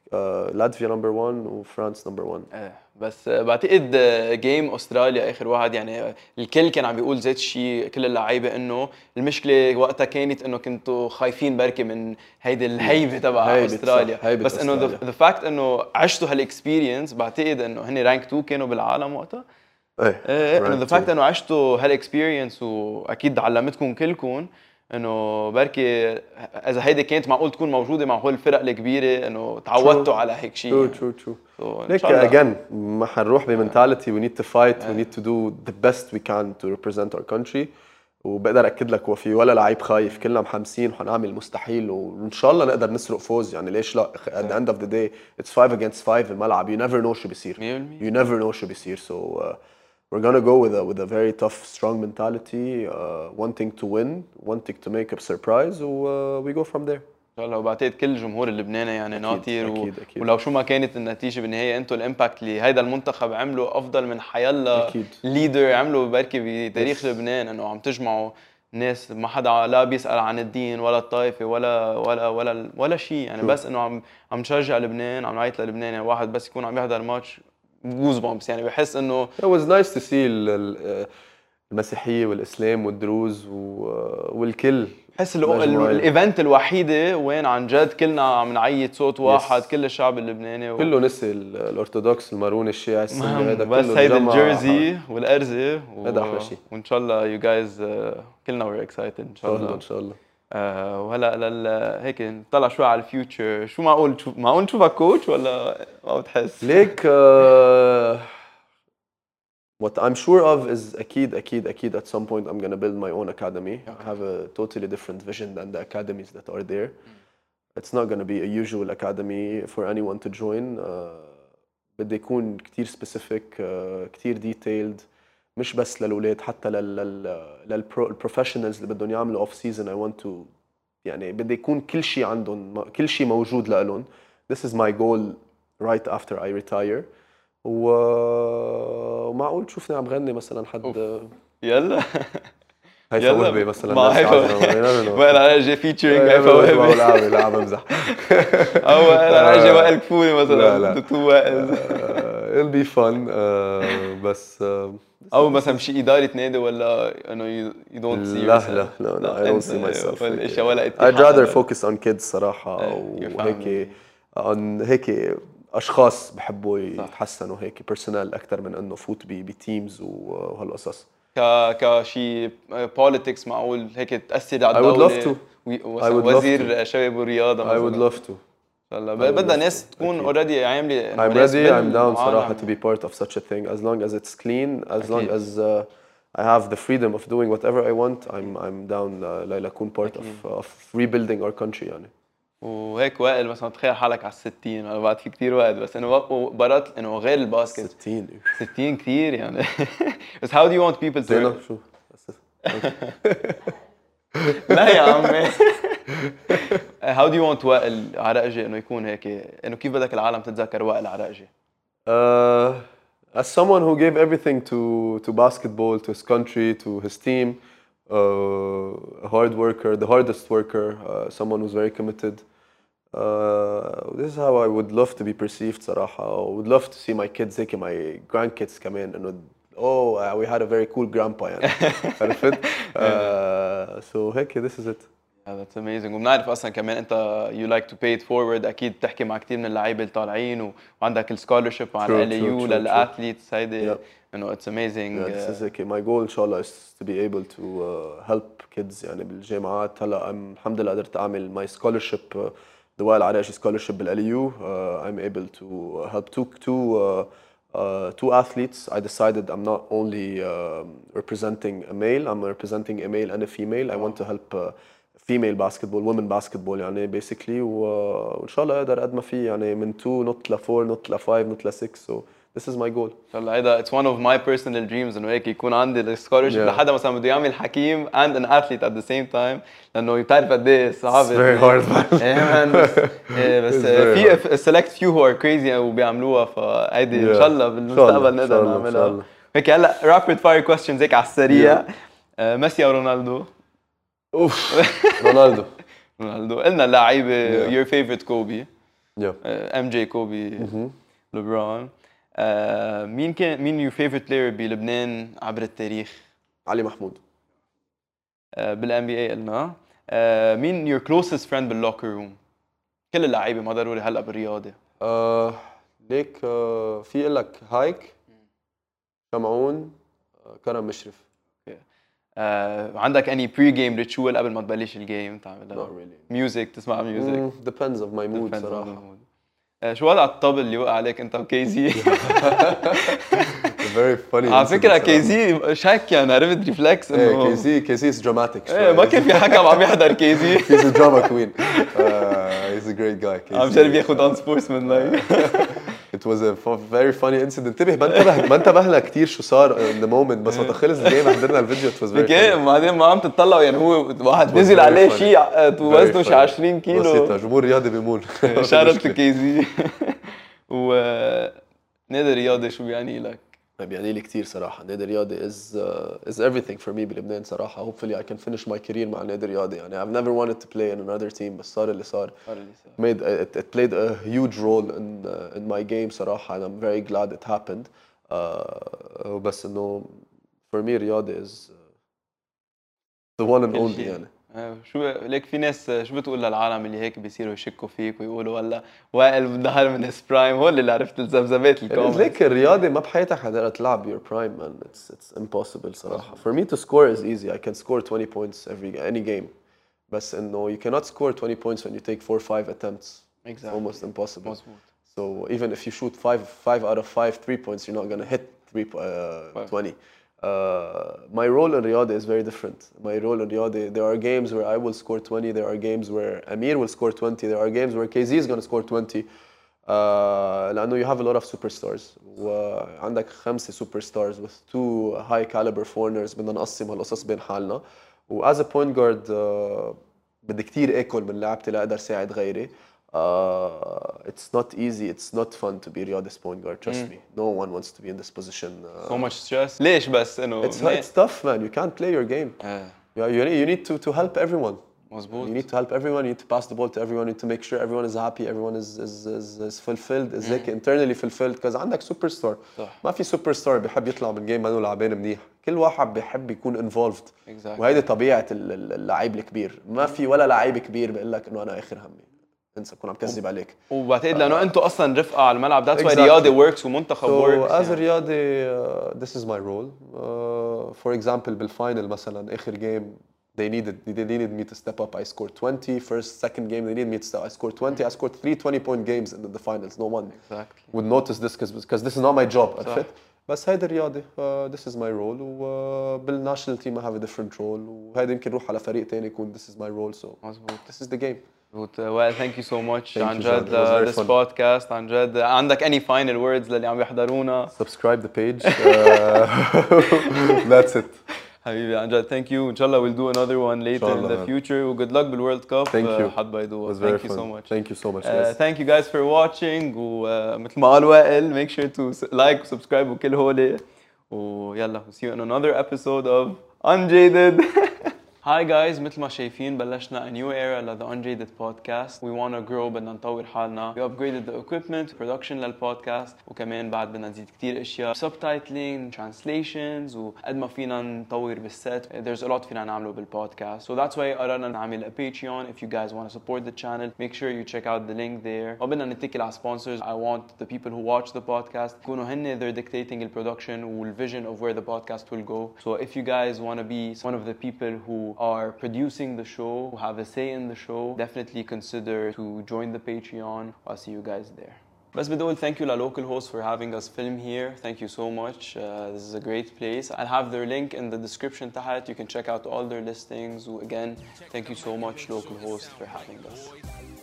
لاتفيا نمبر 1 وفرانس نمبر 1. بس بعتقد جيم استراليا اخر واحد يعني الكل كان عم بيقول ذات الشيء، كل اللعيبه انه المشكله وقتها كانت انه كنتوا خايفين بركي من هيدي الهيبه تبع استراليا، هيبة بس انه ذا فاكت انه عشتوا هالاكسبيرينس، بعتقد انه هن رانك 2 كانوا بالعالم وقتها. ايه انه ذا فاكت انه عشتوا هالاكسبيرينس واكيد علمتكم كلكم انه بركي اذا هيدي كانت معقول تكون موجوده مع هول الفرق الكبيره انه تعودتوا على هيك شيء. true. ليك again ما حنروح بمنتاليتي we need to fight we need to do the best we can to represent our country. وبقدر اكد لك وفي ولا لعيب خايف، كلنا محمسين وحنعمل المستحيل وان شاء الله نقدر نسرق فوز، يعني ليش لا. at the end of the day it's 5 against 5 الملعب، you never know شو بيصير. you never know شو بيصير. so we're gonna go with a very tough strong mentality, wanting to win, wanting to make a surprise we go from there. ان شاء الله. وبعتقد كل الجمهور اللبناني يعني ناطر أكيد. ولو شو ما كانت النتيجه بالنهايه انتم الامباكت اللي هيدا المنتخب عمله افضل من حيلا ليدر عمله بركي بتاريخ لبنان، انه عم تجمعوا ناس ما حدا لا بيسال عن الدين ولا الطائفه ولا شيء يعني بس انه عم نشجع لبنان، عم نعيط للبنان. يعني واحد بس يكون عم يحضر ماتش جوز بومبس يعني بحس انه it was nice to see المسيحيه والاسلام والدروز والكل. بحس الايفنت الوحيده وين عن جد كلنا عم نعيط صوت واحد كل الشعب اللبناني كله نسي الارثوذكس المارون الشيعي السني هذا كله، بس هيدا الجيرزي والارزه هذا احلى شيء. وان شاء الله يو جايز كلنا وير اكسايتد ان شاء الله. ان شاء الله. وهلا هيك نطلع شوي على الفيوتشر، شو معقول نشوفك كوتش ولا ما بتحس؟ ليك what I'm sure of is أكيد at some point I'm gonna build my own academy. I have a totally different vision than the academies that are there. It's not gonna be a usual academy for anyone to join. بدي يكون كتير specific, كتير detailed، مش بس للأولاد حتى للprofessionals اللي بدهم يعملوا off season. I want to يعني بدي يكون كل شيء عندهم، كل شيء موجود لهم. This is my goal right after I retire. ومعقول تشوفني عم غني مثلا حد يلا هيفا وهبي مثلا. ما هيفا ولا جاي فيتشرينج هيفا وهبي. لا عم بمزح. او انا جاي وائل كفوني مثلا تو وائل. it'll be fun. بس او مثلا شيء اداره نادي ولا انه you don't see لا I don't see myself. ولا I'd rather focus on kids صراحة، وهيك on هيك اشخاص بحبوا يتحسنوا هيك بيرسونال اكثر من انه فوت بتيمز وهالقصص. كشي politics معقول هيك تاثر على الدوله؟ I would love to. وزير شباب والرياضه مثلا. I would love to. بدنا ناس تكون already عامله. I'm ready. I'm down صراحة to be part of such a thing as long as it's clean, as long as I have the freedom of doing whatever I want. I'm down لأكون part of rebuilding our country يعني. وهيك وائل مثلا تخيل حالك على 60 ولا بعد في كتير وقت، بس انه برات انه غير الباسكت 60 كتير يعني. بس how do you want people to زينة شو لا يا عمي. how do you want وائل عرقجي انه يكون هيك، انه كيف بدك العالم تتذكر وائل عرقجي؟ As someone who gave everything to basketball, to his country, to his team, a hard worker, the hardest worker, someone who's very committed. This is how I would love to be perceived صراحة. I would love to see my kids هيك my grandkids كمان إنه we had a very cool grandpa يعني. عرفت؟ So هيك this is it. That's amazing. وبنعرف اصلا كمان انت you like to pay it forward، اكيد بتحكي مع كثير من اللعيبه اللي طالعين وعندك السكولرشيب مع LAU للاثليتس هيدي انه it's amazing. This is okay. My goal إن شاء الله is to be able to help kids يعني بالجامعات. هلا الحمد لله قدرت أعمل my scholarship the وائل عرقجي scholarship بالLAU. I'm able to help two athletes. I decided I'm not only representing a male, I'm representing a male and a female. I want to help female basketball, women basketball يعني basically. وإن شاء الله أقدر قد ما في يعني من 2 نط ل 4 نط ل 5 نط ل 6. So this is my goal. ان شاء الله هيدا it's one of my personal dreams انه هيك يكون عندي السكولرشيب لحدا مثلا بده يعمل حكيم and an athlete at the same time، لانه بتعرف قد ايه صعب. It's very hard. بس في select few who are crazy وبيعملوها، فهيدي ان شاء الله بالمستقبل نقدر نعملها. هيك هلا rapid fire questions هيك على السريع. ميسي او رونالدو؟ اوف رونالدو. قلنا اللعيبه your favorite كوبي. Yeah. ام جي كوبي لبران. مين يور فيفورت بلاير بلبنان عبر التاريخ؟ علي محمود. بالان بي اي قلنا. مين يور كلوزست فريند باللوكر روم؟ كل اللعيبه ما ضروري هلا بالرياضه. ليك في لك هايك، شمعون، كرم مشرف. عندك اني بري جيم ريتشوال قبل ما تبلش الجيم تعملها؟ Not really. ميوزك تسمع ميوزك؟ Depends of my mood Depends on the صراحة. mood. شو وضع الطبل اللي وقع عليك انت وكيزي؟ Very funny. على فكرة صراحة. كيزي شك يعني عرفت ريفلكس ايه انه كيزي is dramatic. ايه ما كان في حكم عم يحضر كيزي. He's a drama queen. He's a great guy. عم شرب ياخذ اون سبورتسمان لايك. It was a very funny incident. انتبه ما انتبهنا كثير شو صار in the moment بس وقت خلص الجيم حضرنا الفيديو. It was very funny. بعدين ما عم تطلعوا يعني هو واحد نزل عليه شيء وزنه شي 20 كيلو. بسيطة جمهور رياضي بيمون. شارت لكيزي. و نادي رياضي شو بيعني لك؟ بيعني لي كثير صراحة. نادي رياضي is everything for me بلبنان صراحة. Hopefully I can finish my career مع نادي رياضي. يعني I've never wanted to play in another team بس صار اللي صار. It played a huge role in my game صراحة and I'm very glad it happened. بس إنه for me رياضي is the one and only يعني. شو ليك في ناس شو بتقول للعالم اللي هيك بيصيروا يشكوا فيك ويقولوا ولا وائل ظهر من هيز برايم؟ هول اللي عرفت الذبذبات الكومنت. ليك الرياضي ما بحياتك حتقدر تلعب your prime man. It's impossible صراحة. For me to score is easy. I can score 20 points any game. بس إنه you cannot score 20 points when you take 4-5 attempts. It's almost impossible. So even if you shoot 5 out of 5 3 points, you're not gonna hit 20. My role in Riyadh is very different. My role in Riyadh, there are games where I will score 20, there are games where Amir will score 20, there are games where KZ is going to score 20. لأنه you have a lot of superstars. وعندك 5 superstars with 2 high caliber foreigners. بدنا نقسم هالقصص بين حالنا. و as a point guard بدي كتير آكل من لعبتي لأقدر ساعد غيري. It's not easy, it's not fun to be Riyadh's point guard, trust me. No one wants to be in this position. So much stress. ليش بس إنه It's tough man, you can't play your game. You need to help everyone. مزبوط. You need to help everyone, you need to pass the ball to everyone, you need to make sure everyone is happy, everyone is fulfilled, is like internally fulfilled because عندك superstar. ما في superstar بيحب يطلع من جيم ما انه لعبان منيح. كل واحد بيحب يكون involved. وهيدي طبيعة اللعيب الكبير. ما في ولا لعيب كبير بيقول لك انه انا اخر همي. انسى كون عم كذب عليك. وبعتقد لانه انتم اصلا رفقه على الملعب that's why رياضي works ومنتخب works. as a رياضي this is my role. For example بالفاينل مثلا اخر جيم they needed me to step up. I scored 20. Second game they needed me to step. I scored 20. I scored 3 20-point games in the finals. No one would notice this because this is not my job. بس هيدا الرياضي. This is my role. وبالناشونال تيم I have a different role. وهيدا يمكن روح على فريق تاني يكون this is my role. So this is the game. Well, thank you so much عن جد this fun. podcast. عن جد عندك any final words للي عم يحضرونا؟ Subscribe the page. That's it. حبيبي عن جد thank you. إن شاء الله we'll do another one later in the future. و good luck بالورلد كاب. Thank you. حد بيدوها. Thank you so much. Thank you so much guys. Thank you guys for watching. ومثل ما قال وائل make sure to like subscribe وكل هولي. ويلا we'll see you in another episode of Unjaded. Hi guys, مثل ما شايفين بلشنا a new era ل The Unjaded podcast. We want to grow, بدنا نطور حالنا. We upgraded the equipment, production للبودكاست وكمان بعد بدنا نزيد كتير اشياء subtitling, translations وقد ما فينا نطور بالست. There's a lot فينا نعمله بالبودكاست. So that's why قررنا نعمل a Patreon. If you guys want to support the channel, make sure you check out the link there. وبدنا نتكل على sponsors. I want the people who watch the podcast يكونوا هن they're dictating the production والvision of where the podcast will go. So if you guys want to be one of the people who are producing the show, who have a say in the show, definitely consider to join the Patreon. I'll see you guys there. بس بدي أقول thank you to local hosts for having us film here. Thank you so much. This is a great place. I'll have their link in the description تحت. You can check out all their listings. Again, thank you so much local hosts for having us.